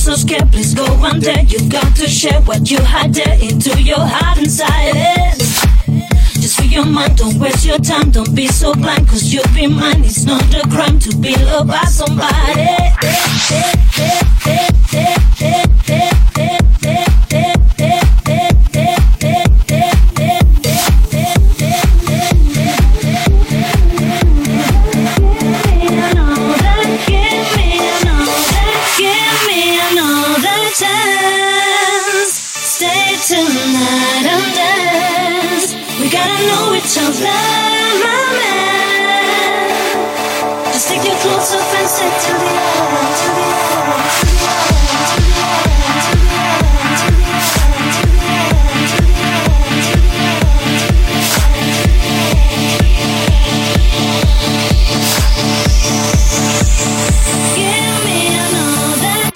so scared, please go under. You've got to share what you hide there into your heart inside it. Just free your mind, don't waste your time, don't be so blind, cause you'll be mine. It's not a crime to be loved by somebody. Tonight and dance. We gotta know each other, my man. Just take your clothes off and say to the end, to the end, to the end, to the end, to the end, to the end, to the end, to the end, to the end. Give me another.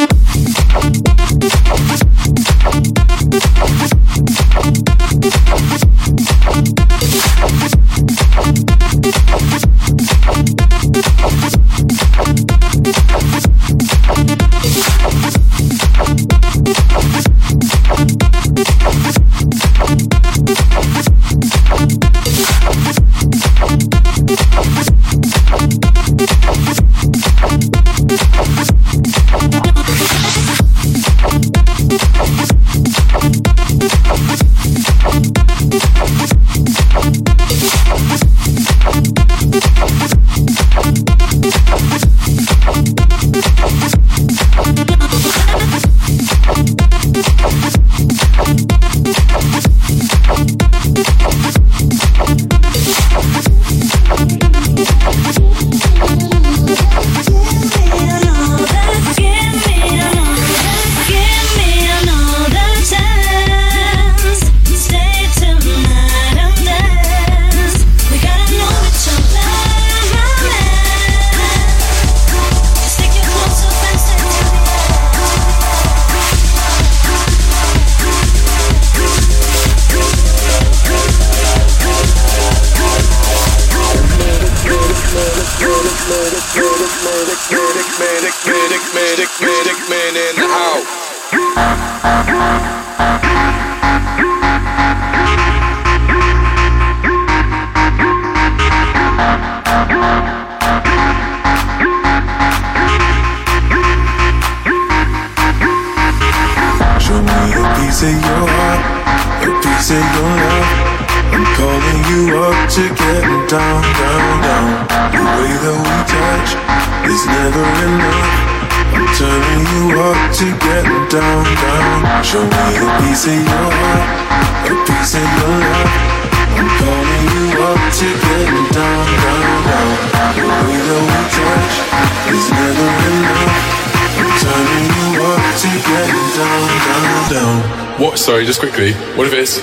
What? Sorry, just quickly. What if it's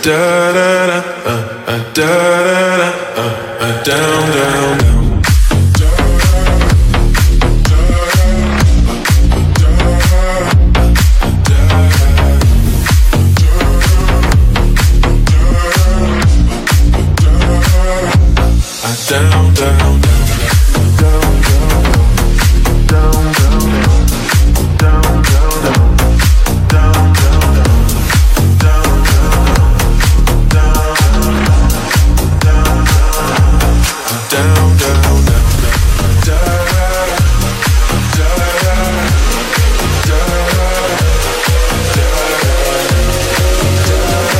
da da da da da da down down down. Down, down, down.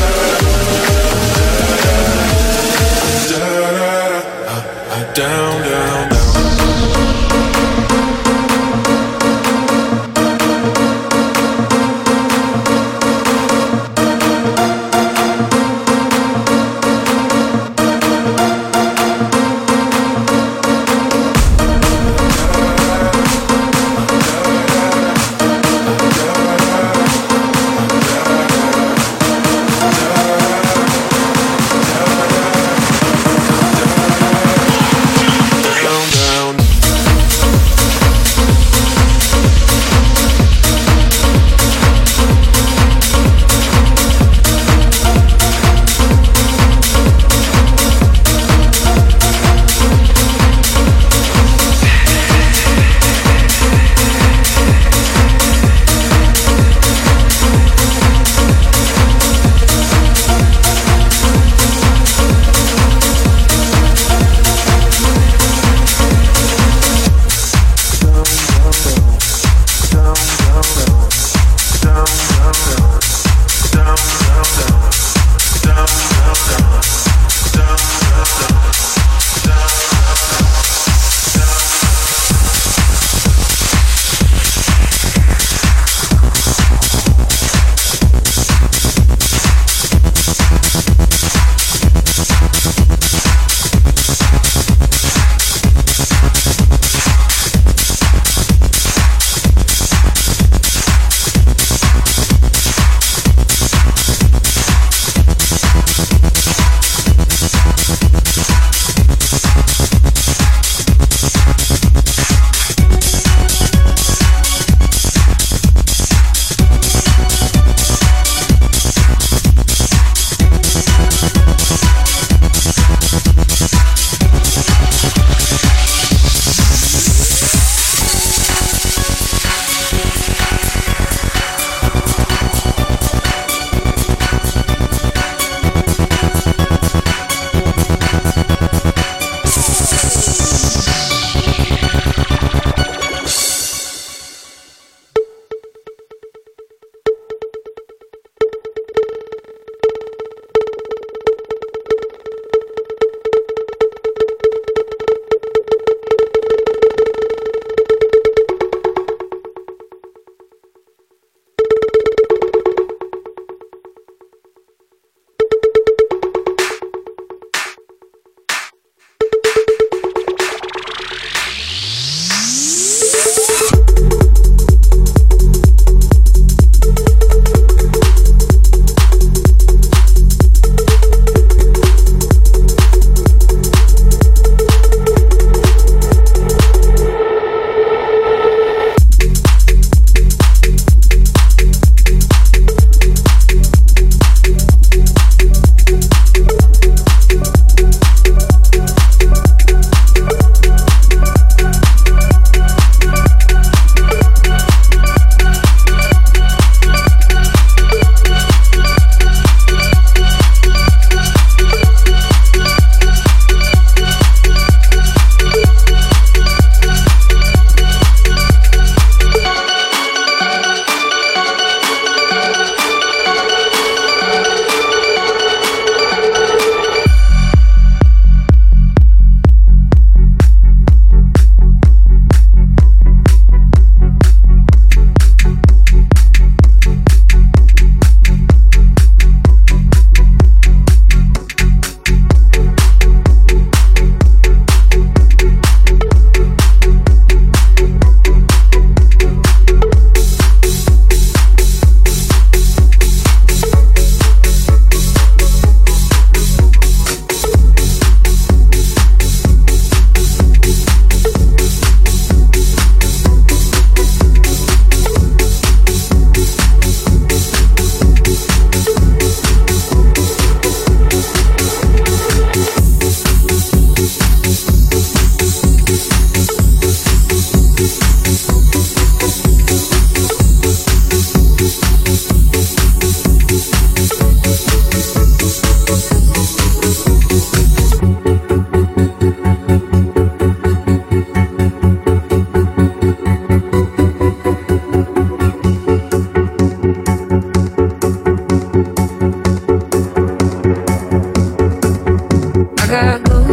Down, down.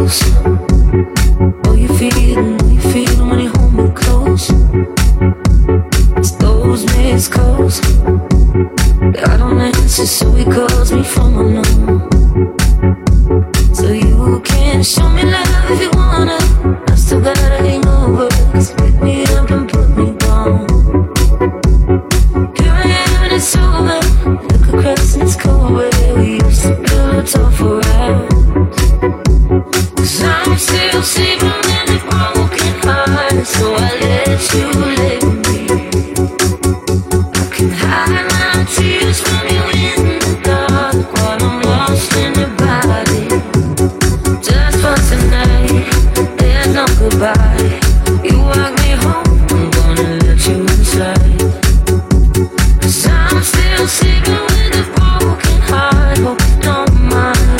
close. Oh, you feeling when you hold me close. It's those missed calls that I don't answer, so he calls me from unknown. So you can show me love if you wanna. I'm still got a hangover, 'cause you pick me up and put me down. Here I am and it's over. Look across and it's cold where we used to pillow talk for hours. 'Cause I'm still sleeping in a broken heart, so I let you live with me. I can hide my tears from you in the dark while I'm lost in your body. Just for tonight, there's no goodbye. You walk me home, I'm gonna let you inside. 'Cause I'm still sleeping with a broken heart, hope you don't mind.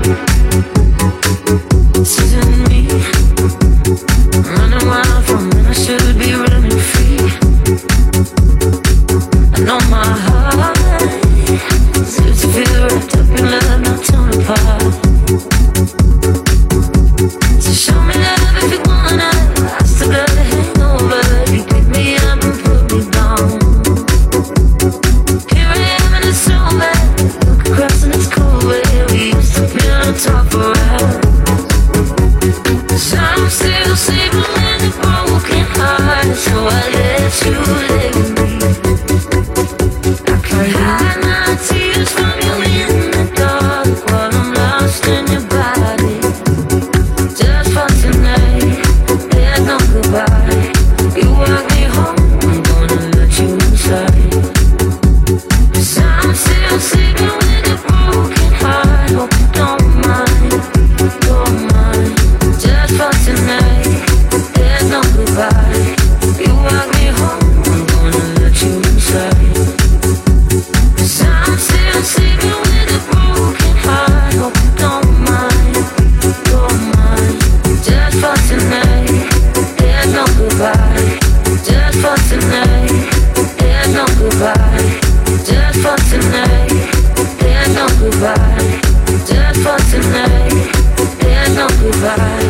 This isn't me, running wild from when I should be running free. I know my heart seems to feel wrapped up in love, not torn apart. So show me love if you wanna. I still got a hangover. You pick me up and put me down. Here I am and it's over. Look across and it's cold where we used to be on top for hours. 'Cause I'm still sleeping with a broken heart, so I let you live with me. I can hide my tears from you in the dark while I'm lost in your body. Just for tonight, there's no goodbye. You walk me home, I'm gonna let you inside. 'Cause I'm still sleeping with a broken heart, hope you don't mind, don't mind. Just for tonight, there's no goodbye. You walk me home, I'm gonna let you inside. 'Cause I'm still sleeping with a broken heart, hope you don't mind, don't mind. Just for tonight, there's no goodbye. Just for tonight, there's no goodbye. Just for tonight, there's no goodbye. Just for tonight, there's no goodbye.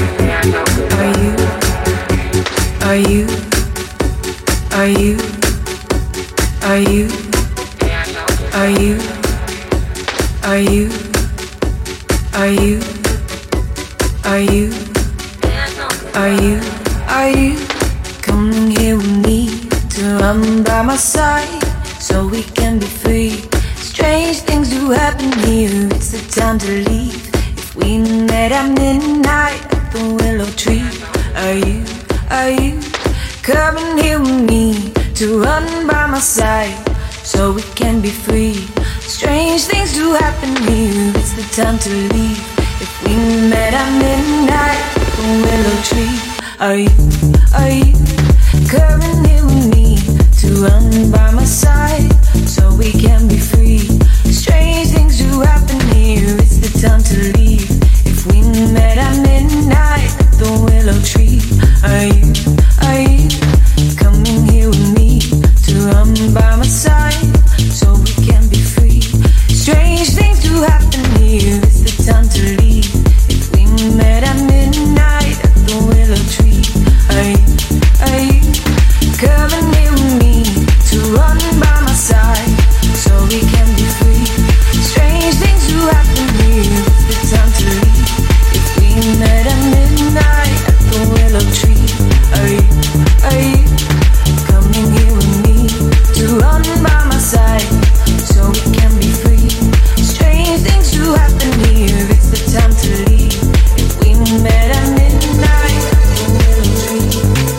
Are you? Are you? Are you? Are you? Are you? Are you? Are you? Are you? Are you coming here with me to run by my side so we can be free? Strange things do happen here. It's the time to leave. If we met at midnight at the willow tree, are you? Are you coming here with me to run by my side so we can be free? Strange things do happen here. It's the time to leave. If we met at midnight at the willow tree, are you? Are you coming here with me to run by my side so we can be free? Strange things do happen here. It's the time to leave. If we met at midnight at the willow tree, are you? Are you coming here with me to run by my side so we can be free? Strange things do happen here. It's the time to leave. If we met at midnight at the willow tree, are you? Are you coming here with me to run by my side so we can be free? Strange things do happen here. It's the time to leave. If we met at midnight at the willow tree, are you? Are you coming here with me to run by my side so we can be free? Strange things do happen here. It's the time to leave. If we met at midnight at the willow tree.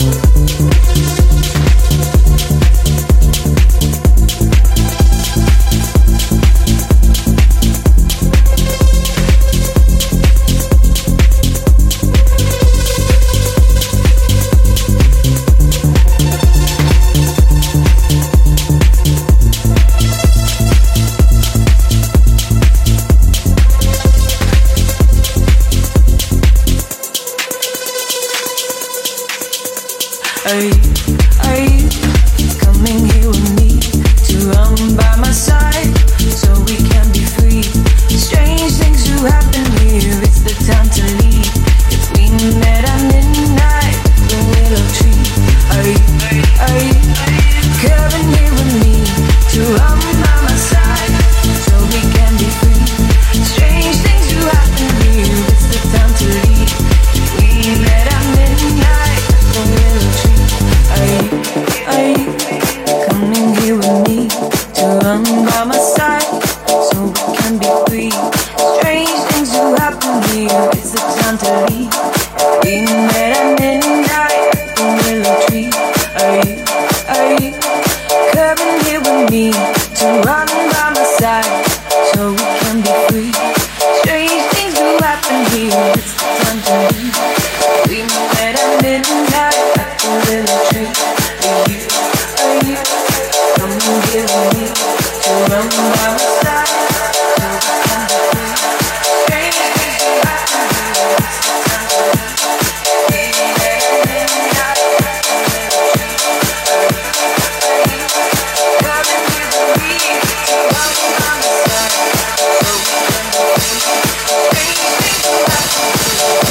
Are you coming here with me to run by my side so we can be free? Strange things do happen here. It's the time to leave. you, is it time to leave? We met at midnight at the willow tree. Are you coming here with me to run by my side so we can be free? Strange things do happen here, it's the time to leave. We met at midnight at the willow tree. Are you coming here with me to run by my side so we can be free? Strange things do happen here, it's the time to leave. We met at midnight at the willow tree. Are you coming here with me to run by my side so we can be free? Strange things do happen here.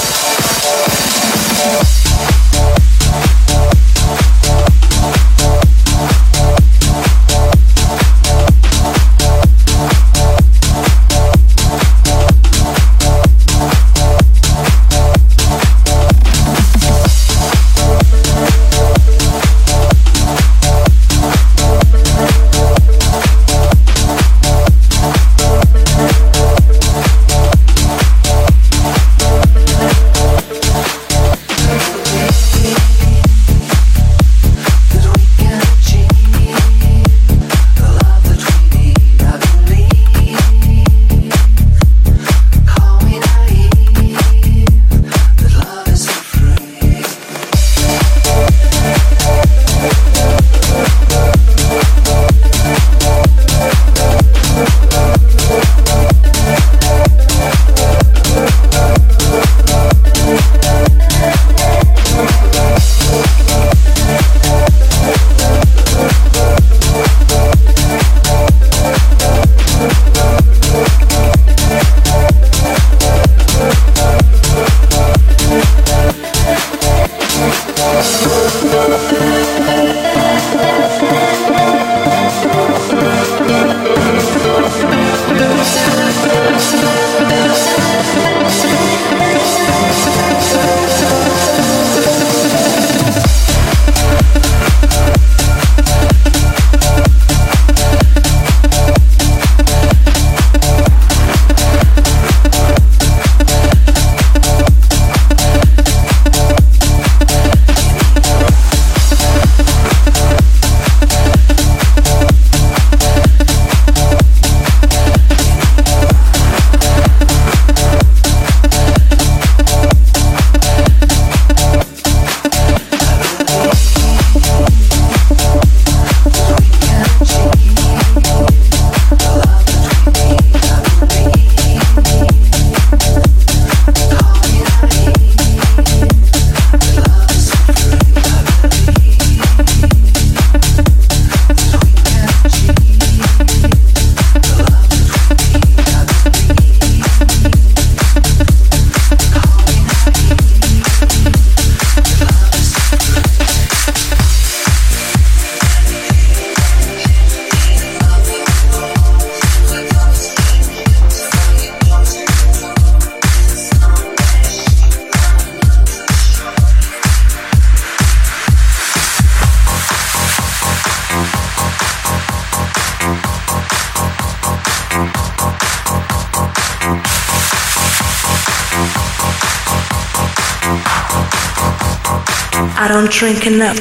I don't drink enough.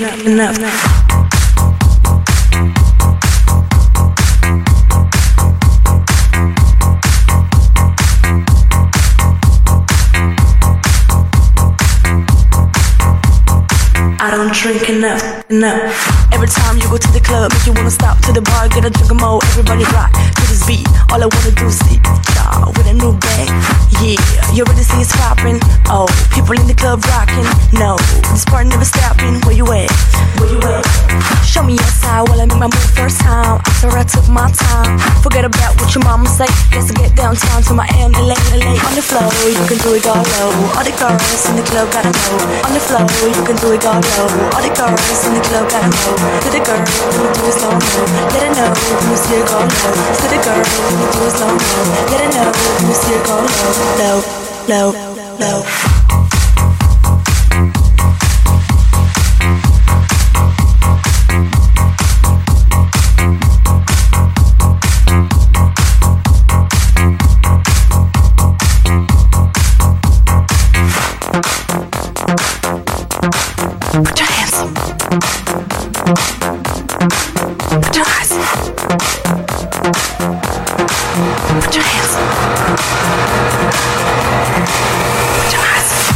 I don't drink enough. Every time you go to the club, make you wanna stop to the bar, get a drink more. Everybody rock to this beat. All I wanna do is see y'all with a new bang. Yeah, you already see it's popping. Oh, people in the club rocking. No, this party never stopping. Where you at? Show me your side while I make my move first time. After I took my time, forget about what your mama say. Let's get downtown to Miami, LA. On the floor, you can do it all low. All the girls in the club gotta know. On the floor, you can do it all low. All the girls in the club gotta know. To the girl, when you do it slow mo. Let her know when you see her go low. To the girl, when you do it slow mo. Let her know when you see her go low. Low. Put your hands up. Put your eyes up. Put your hands up. Put your eyes up.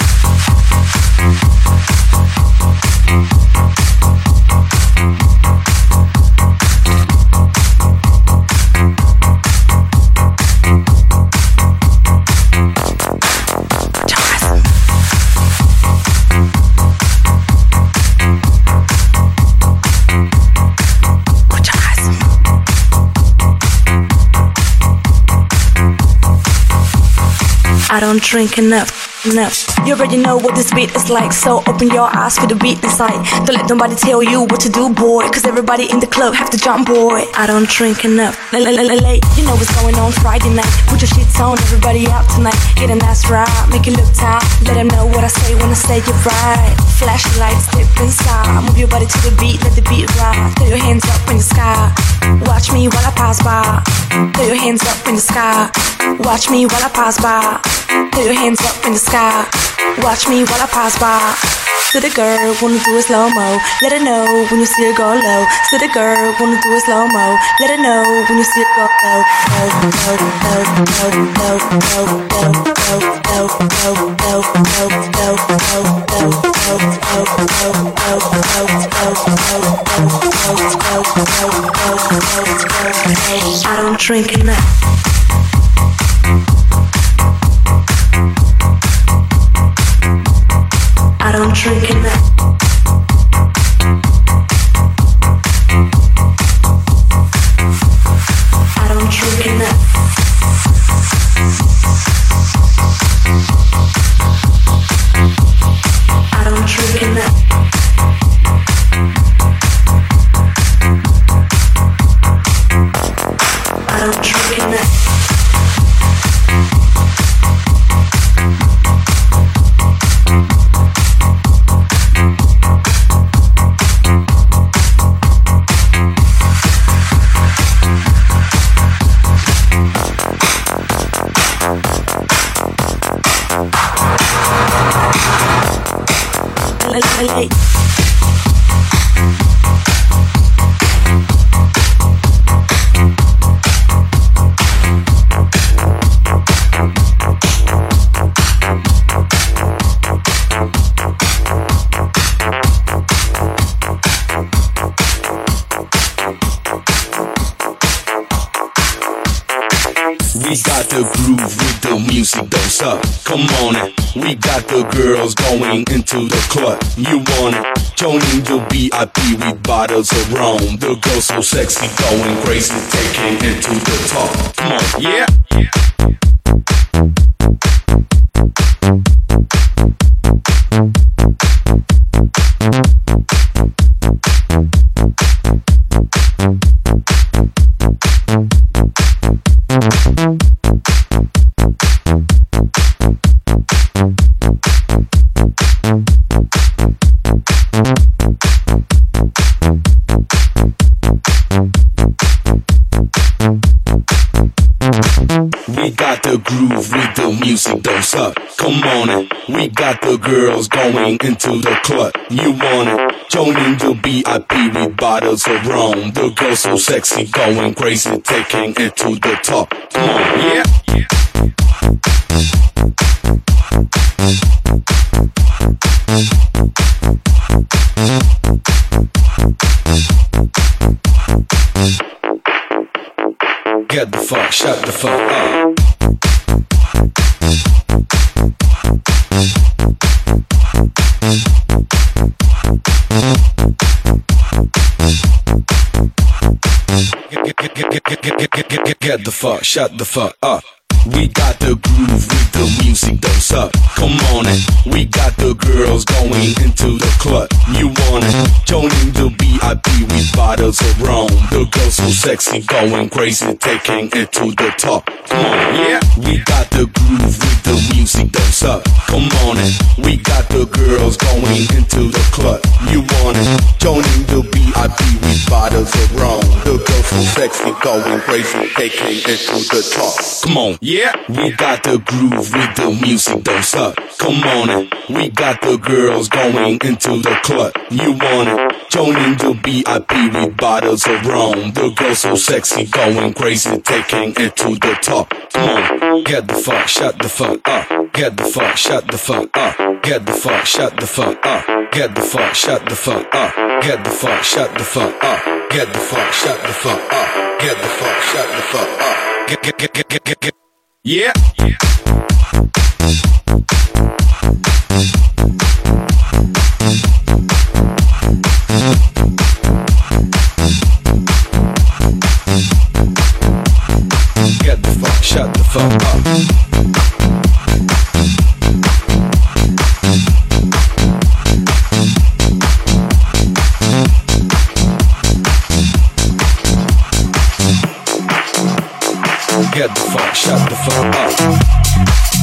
I don't drink enough. You already know what this beat is like, so open your eyes for the beat inside. Don't let nobody tell you what to do, boy, cause everybody in the club have to jump, boy. I don't drink enough. Late, you know what's going on Friday night. Put your shits on, everybody out tonight. Get a nice ride, make it look tight. Let them know what I say when I say you're right. Flash your lights, step inside. Move your body to the beat, let the beat ride. Throw your hands up in the sky. Watch me while I pass by. Throw your hands up in the sky. Watch me while I pass by. Throw your hands up in the sky. Watch me while I pass by. To the girl, wanna do a slow-mo. Let her know when you see her go low. To the girl, wanna do a slow-mo. Let her know when you see her go low. I don't drink enough. I don't drink enough. I don't drink enough. I don't drink enough. I don't drink enough. We got the groove with the music, don't suck. Come on in. We got the girls going into the club. You want it? Joining the VIP with bottles of rum. The girls so sexy, going crazy, taking it to the top. Come on, yeah. We got the groove with the music, don't suck. Come on in. We got the girls going into the club. You want it? Joining the VIP with bottles of rum. The girls so sexy, going crazy, taking it to the top. Come on, yeah. Get the fuck, shut the fuck up. Get the fuck, shut the fuck up. We got the groove with the music, don't suck. Come on in. We got the girls going into the club. You want it? Joining the VIP with bottles of rum. The girls so sexy, going crazy, taking it to the top. Come on, yeah. We got the groove with the music, don't suck. Come on in. We got the girls going into the club. You want it? Joining the VIP with bottles of rum. The girls so sexy, going crazy, taking it to the top. Come on, yeah. We got the groove with the music, don't suck. Come on in. We got the girls going into the club. You wanna join in the VIP with bottles of rum. The girls so sexy, going crazy, taking it to the top. Come on, get the fuck, shut the fuck up. Get the fuck, shut the fuck up. Get the fuck, shut the fuck up. Get the fuck, shut the fuck up. Get the fuck, shut the fuck up. Get the fuck, shut the fuck up. Get the fuck, shut the fuck up. Get. Yeah. Get the fuck, shut the fuck up. Get the fuck, shut the fuck up.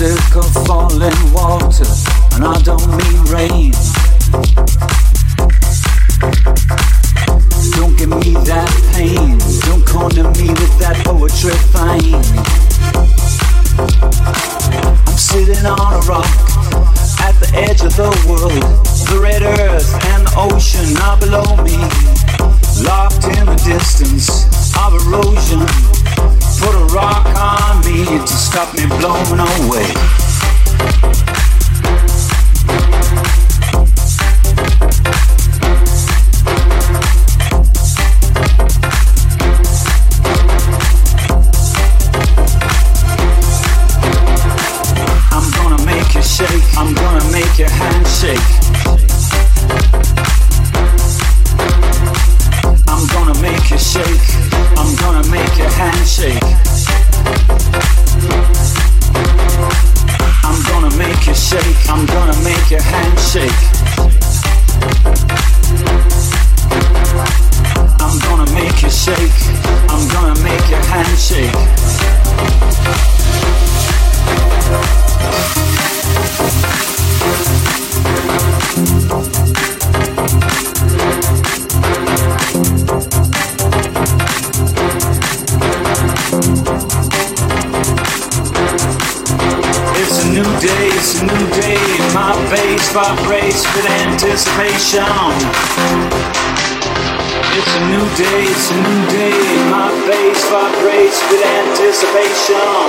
sick of falling water, and I don't mean rain. Don't give me that pain. Don't corner me with that poetry fine. I'm sitting on a rock at the edge of the world. The red earth and the ocean are below me, locked in the distance of erosion. Put a rock on me to stop me blowing away. I'm gonna make you shake. I'm gonna make your hand shake. I'm gonna make you shake. I'm gonna make your hand shake. I'm gonna make you shake. I'm gonna make your hand shake. I'm gonna make you shake. I'm gonna make your hand shake. It's a new day, it's a new day. My face vibrates with anticipation. It's a new day, it's a new day. My face vibrates with anticipation.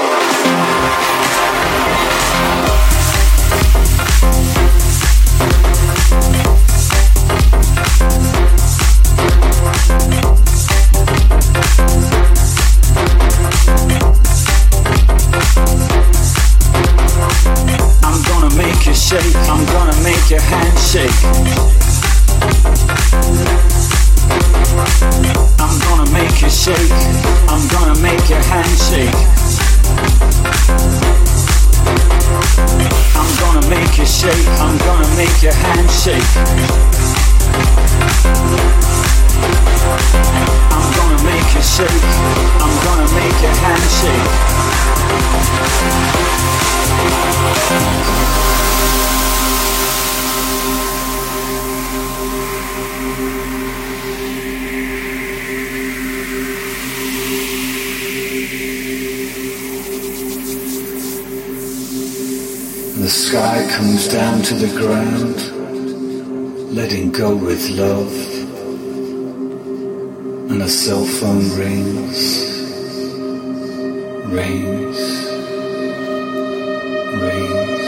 Shake. I'm gonna make your hand shake. I'm gonna make you shake. I'm gonna make your hand shake. I'm gonna make you shake. I'm gonna make your hand shake. I'm gonna make you shake. I'm gonna make your hand shake. The sky comes down to the ground, letting go with love, and a cell phone rings, rings, rings.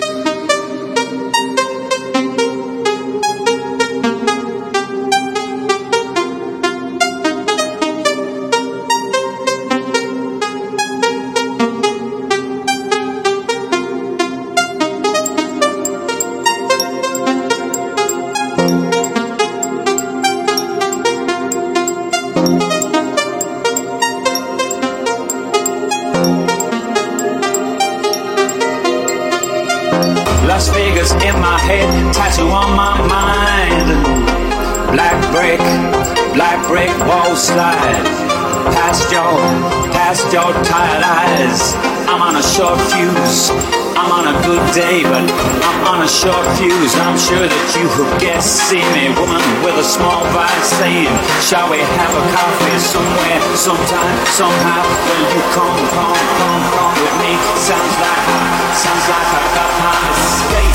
Las Vegas in my head, tattoo on my mind. Black brick wall slide. Past your tired eyes. I'm on a short fuse. I'm on a good day, but I'm on a short fuse. I'm sure that you have guessed. See me, woman with a small vice, saying, shall we have a coffee somewhere, sometime, somehow? Will you come with me? Sounds like I got my escape.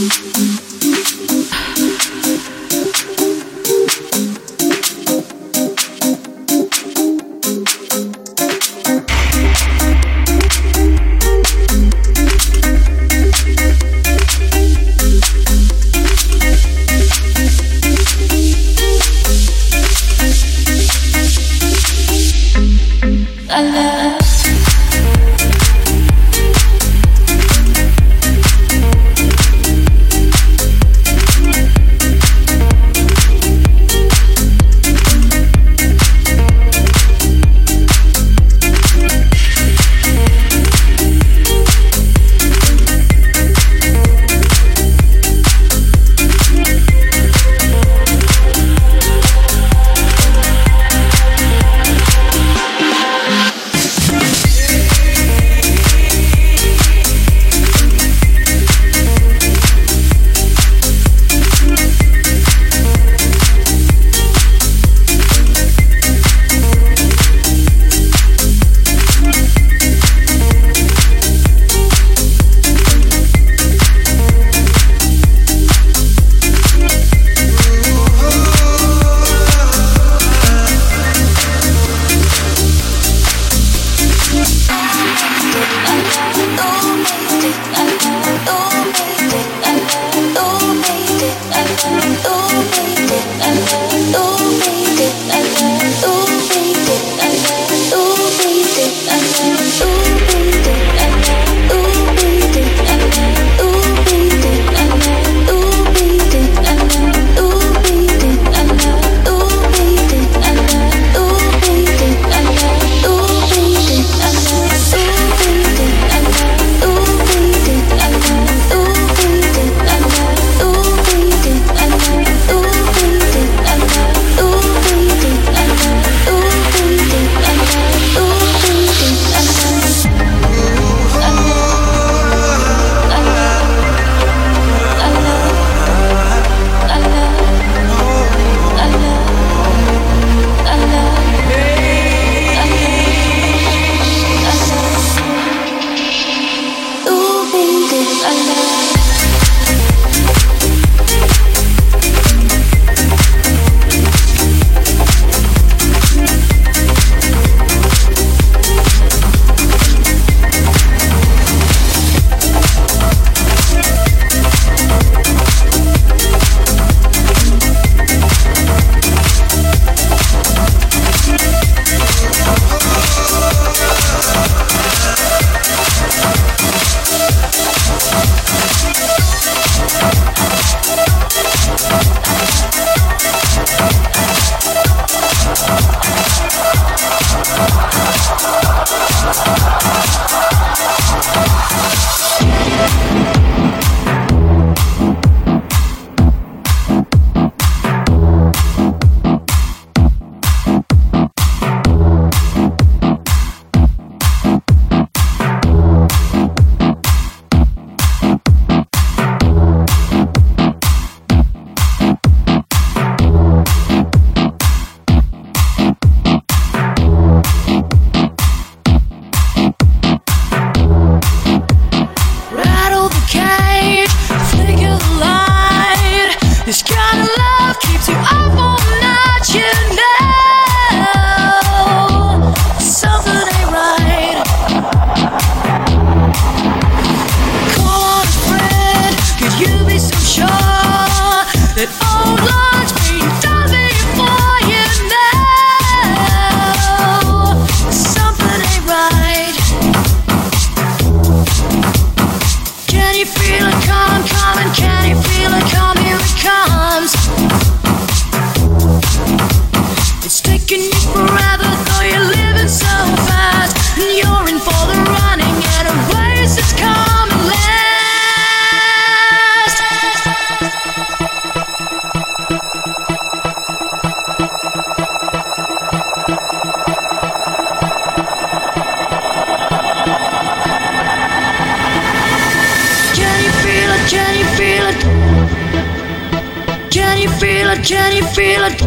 Can you feel it?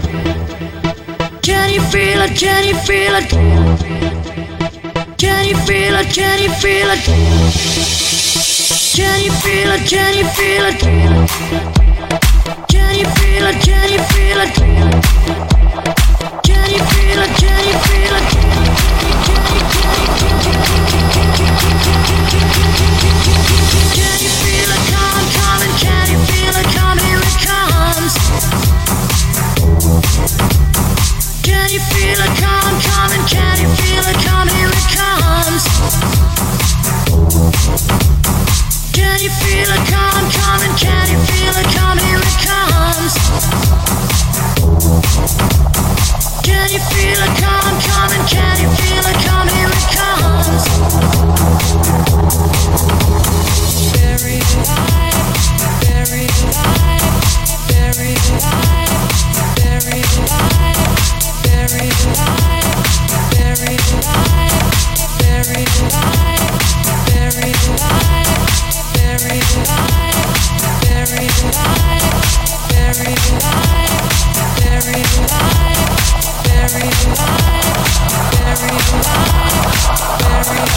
Can you feel it? Can you feel it? Can you feel it? Can you feel it? Can you feel it? Can you feel it? Can you feel it? Can you feel it? Can you feel it? Can you feel it? Can you feel it coming, coming? Can you feel it coming? Here it comes. Can you feel it coming, coming? Can you feel it coming? Here it comes. Can you feel it coming, coming? Can you feel it coming? Here it comes. Can you feel it coming, coming? Can you feel it coming? Here it comes. Buried alive, buried alive, buried alive, buried alive, buried alive, buried alive, buried alive, buried alive. Buried alive, buried alive, buried alive, buried alive, buried alive, buried alive, buried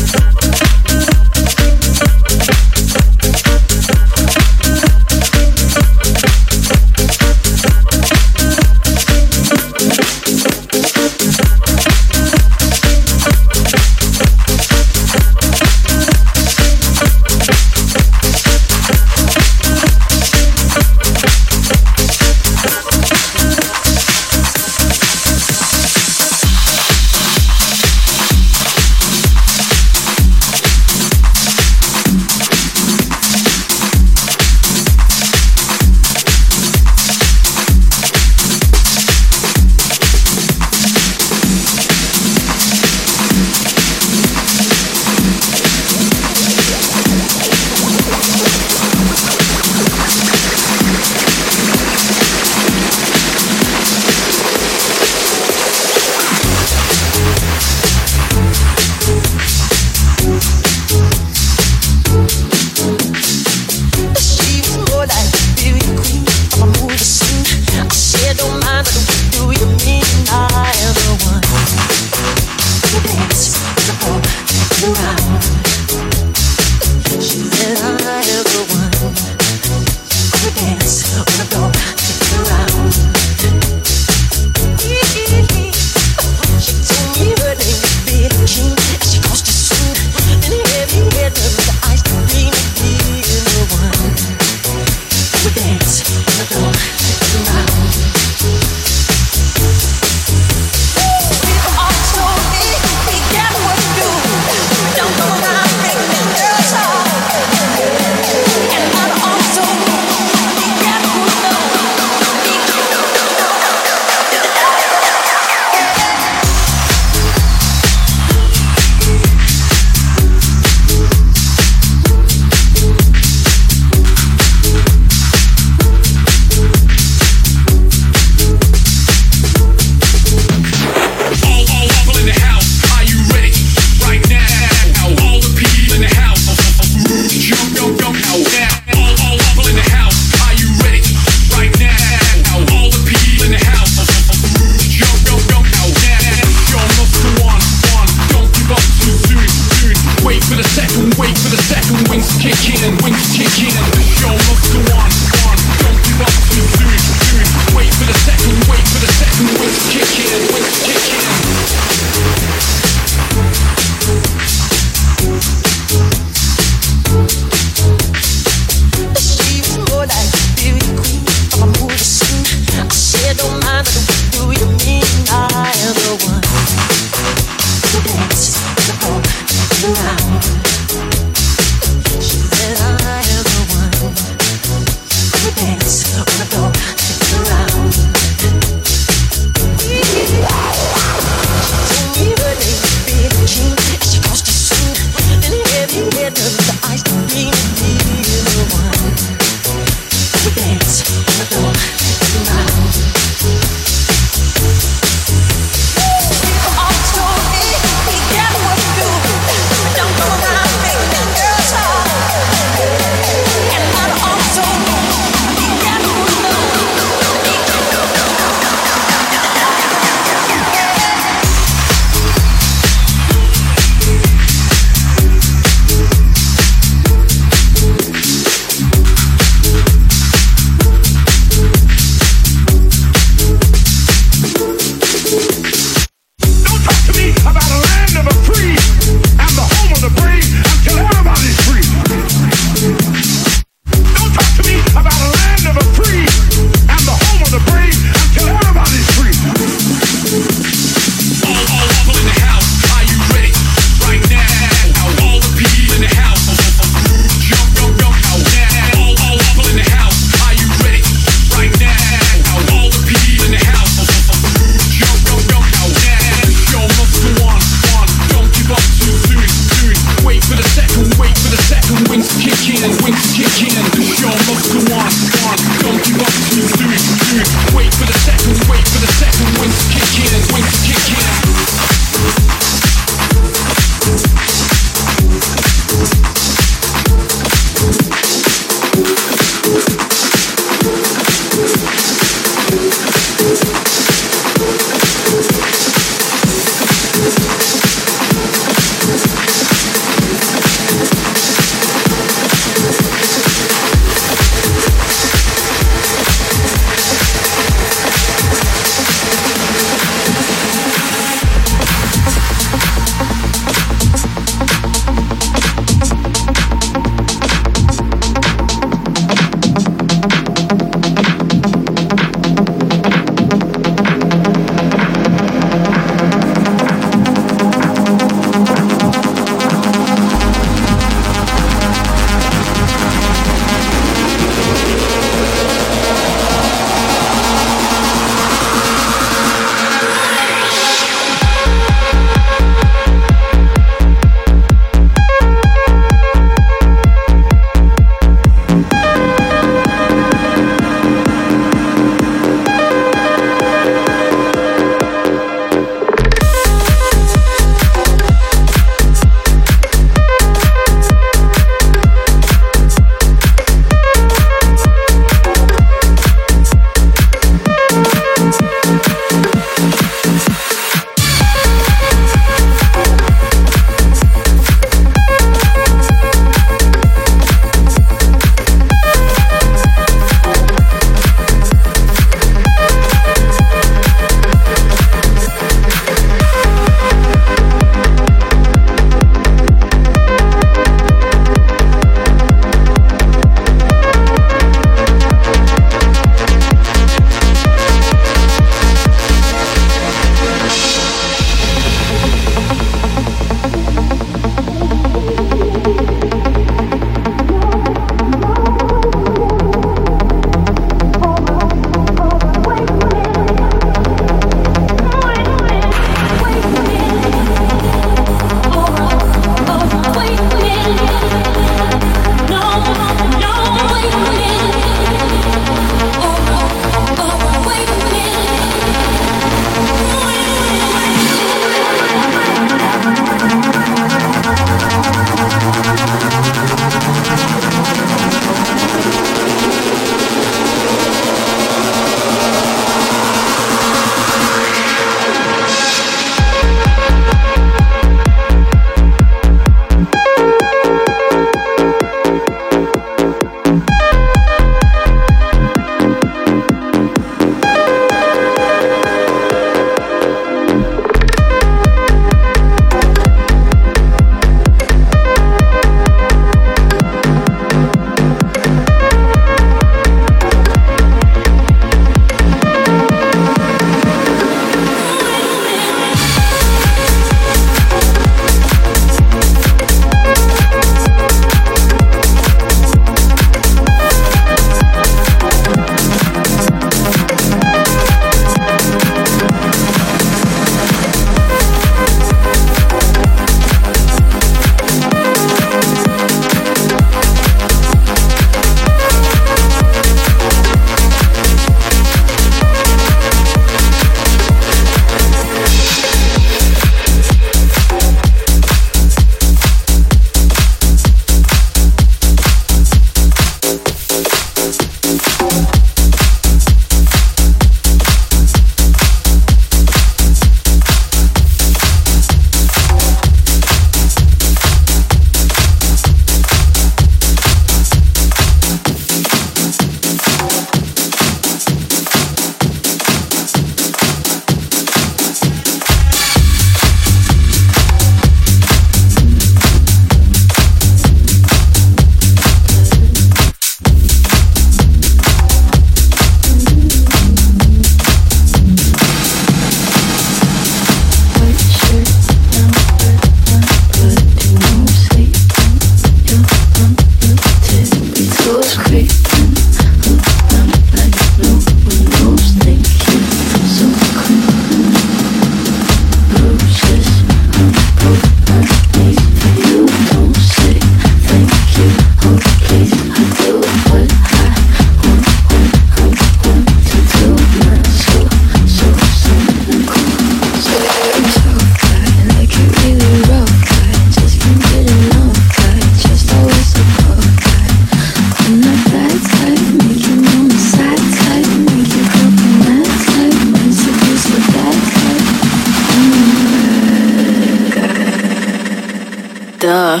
duh.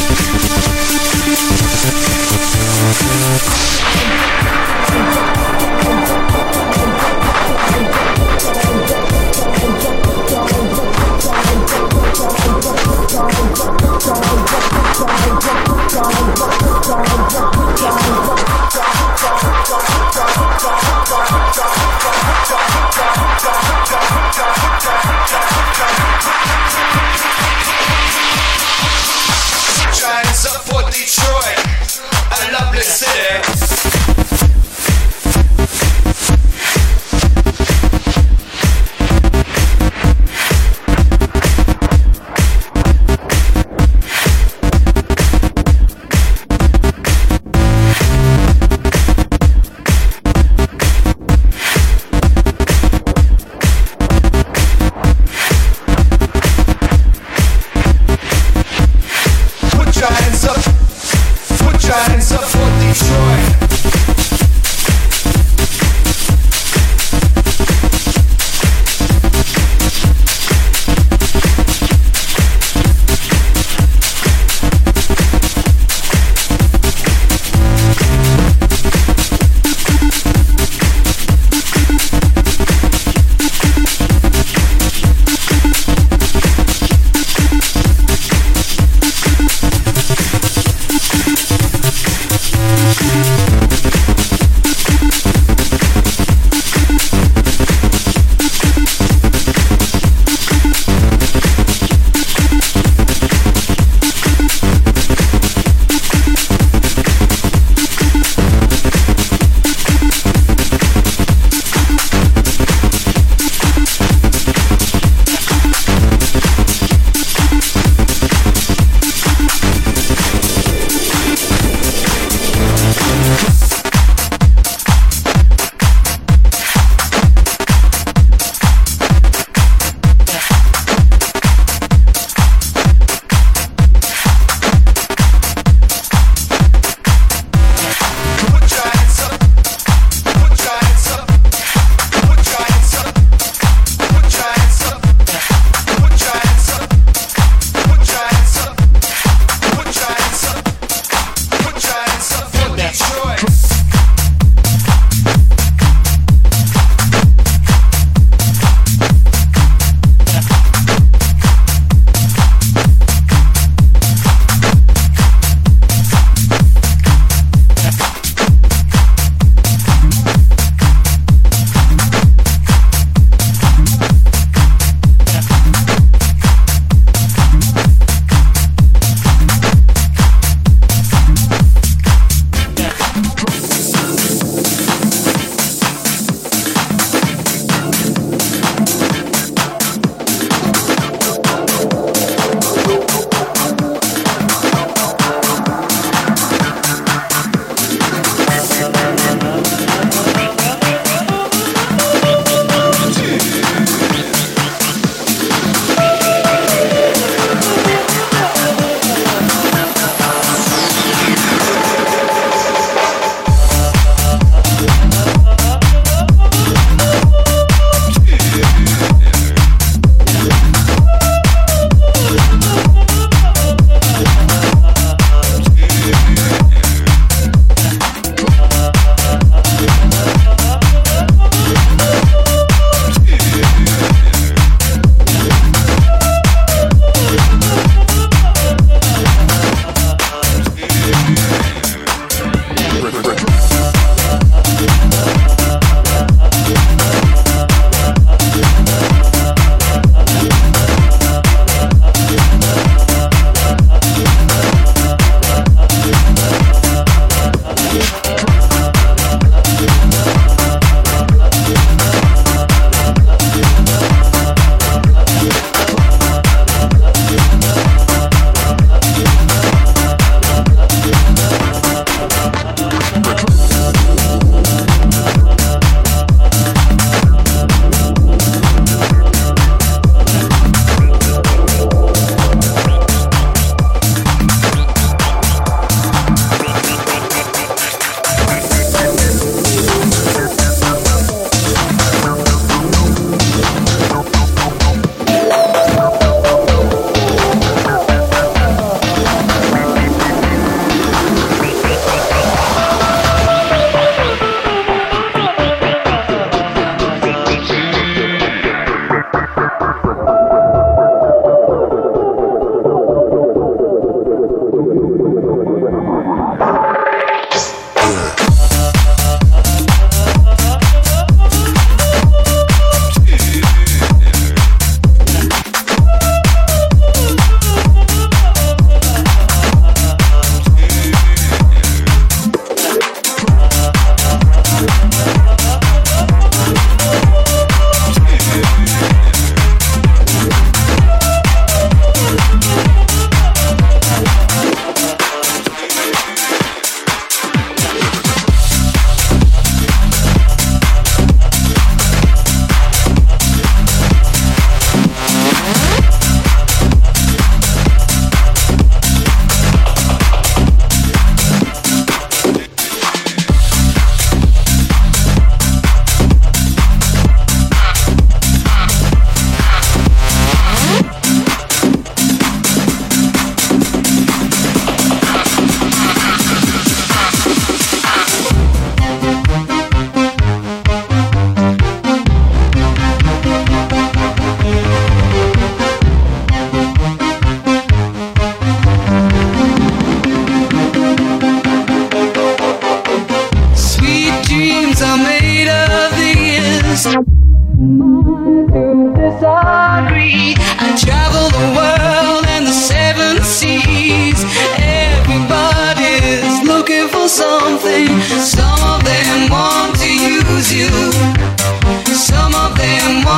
Giants up for Detroit, a lovely city. Put your hands up.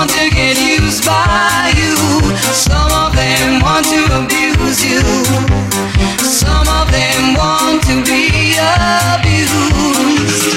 want to get used by you. Some of them want to abuse you. Some of them want to be abused.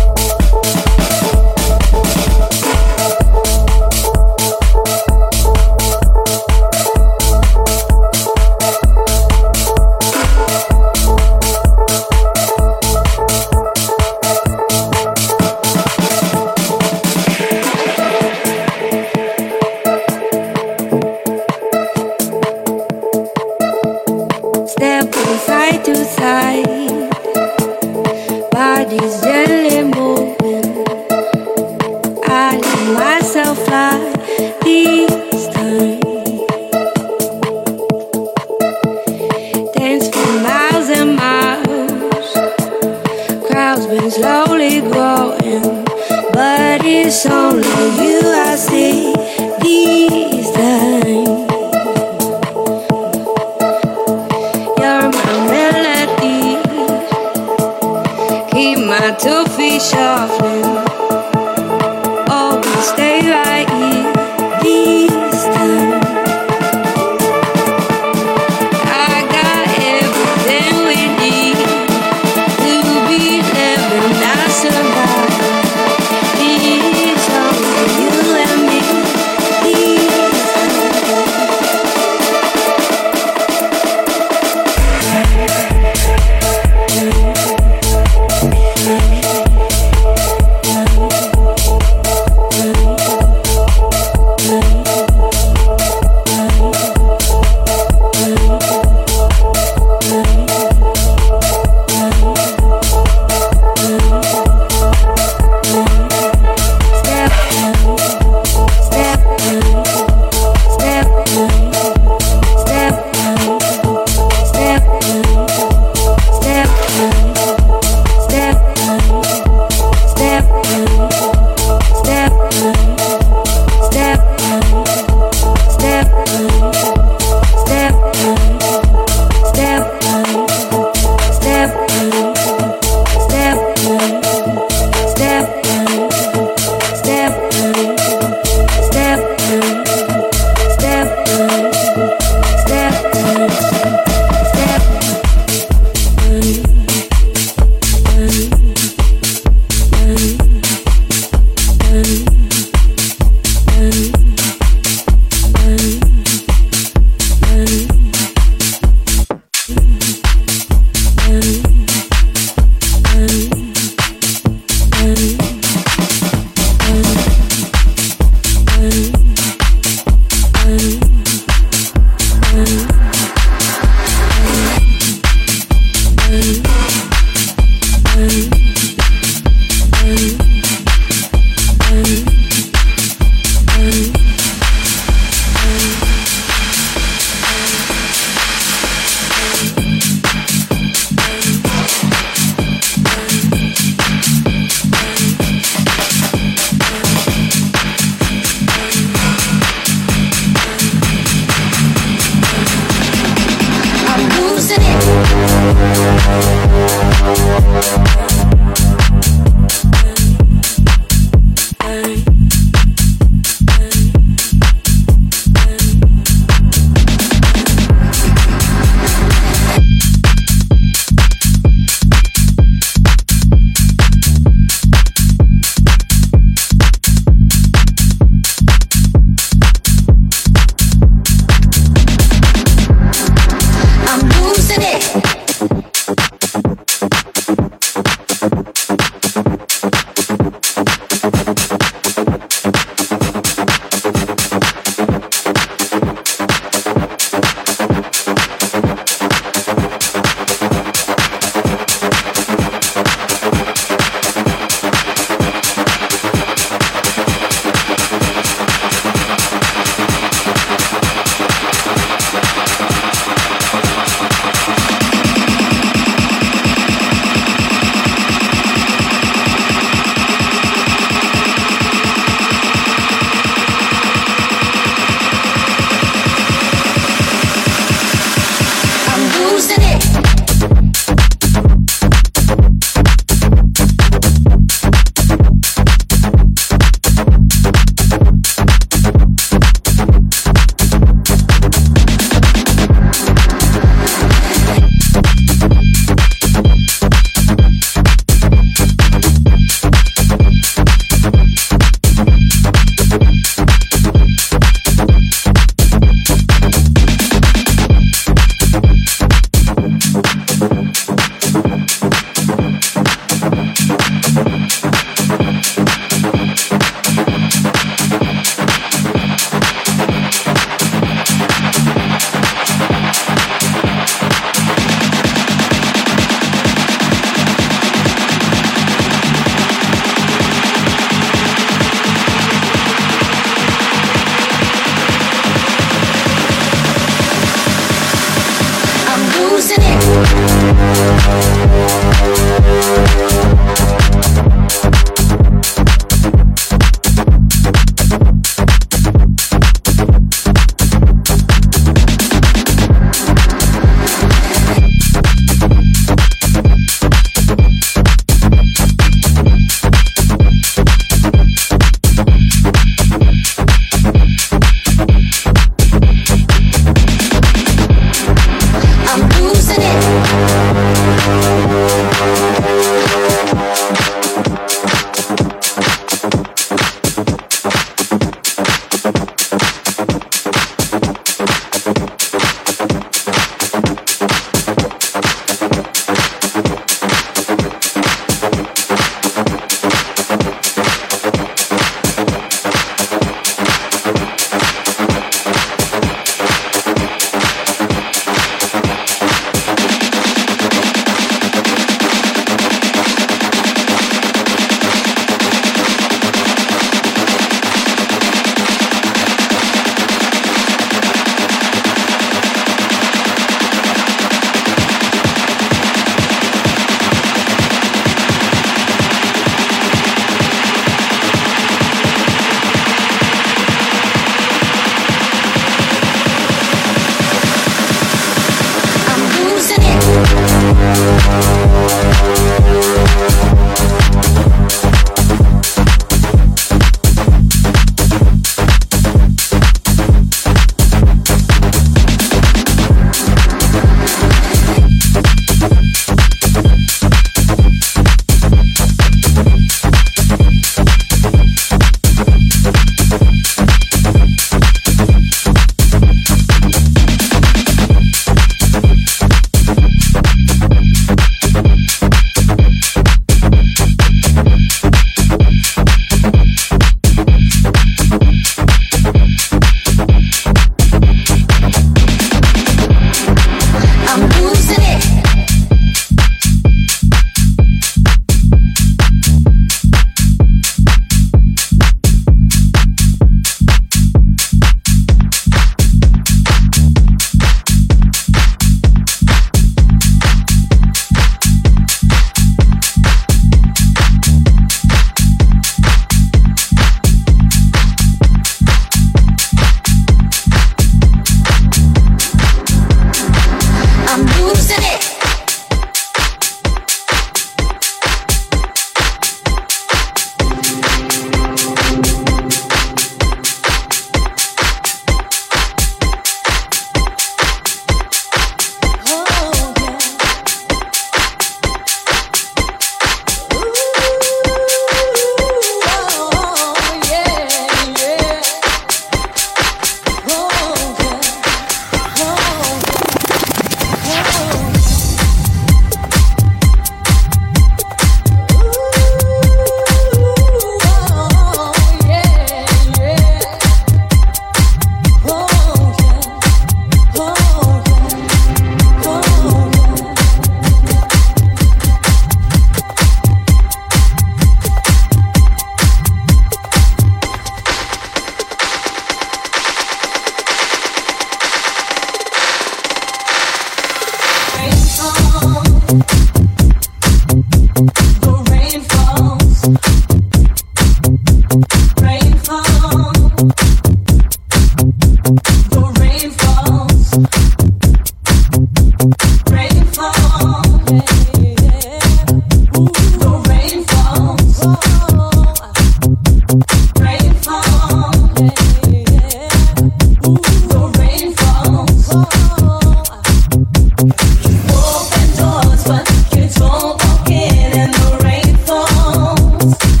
Open doors, but you don't walk in, and the rain falls.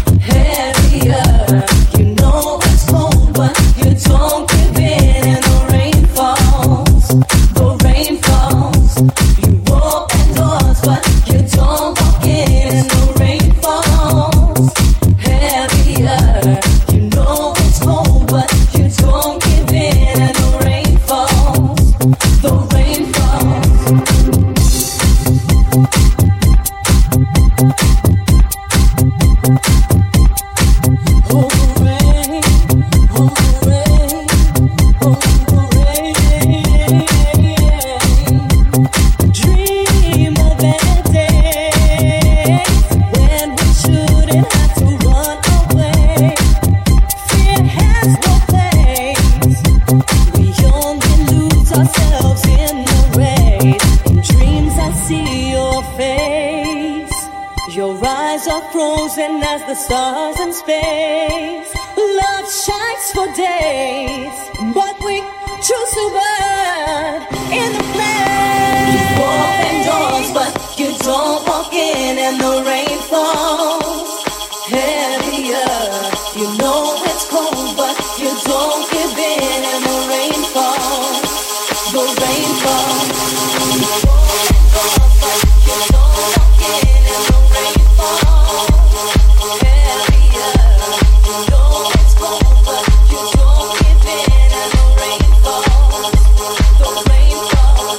eyes are frozen as the stars in space. Love shines for days, but we choose to burn in the flame. You open doors, but you don't walk in, and the rain falls heavier. You know it's cold, but you don't give in, and the rain falls. The rain falls. You open doors, but you don't walk in, and the rain falls heavier. You know it's cold, but you don't give in, and the rain falls. The rain falls.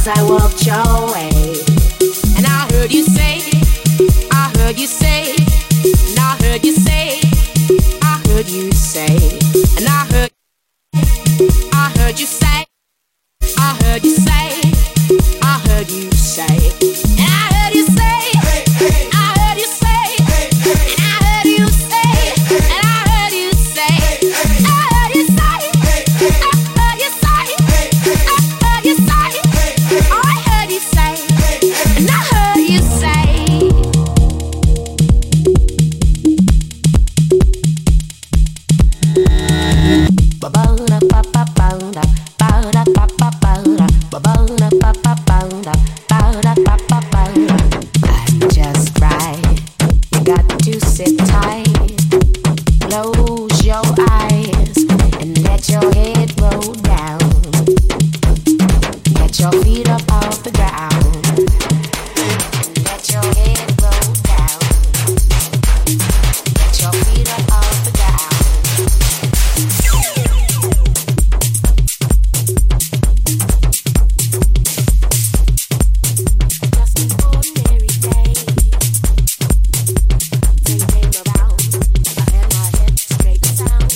I walked your way. And I heard you say, I heard you say, and I heard you say, I heard you say, and I heard you say, I heard you say, I heard you say, and I heard you say, I heard you say, and I heard you say, and I heard you say, I heard you say, I heard you say, I heard you say, I heard you say, and I heard you say. I'm just right. You got to sit tight. Close your eyes and let your head roll down. Get your feet up off the ground. Let your head roll down. Get your feet up off the ground. Just an ordinary day. Ting came around. I had my head straight sound.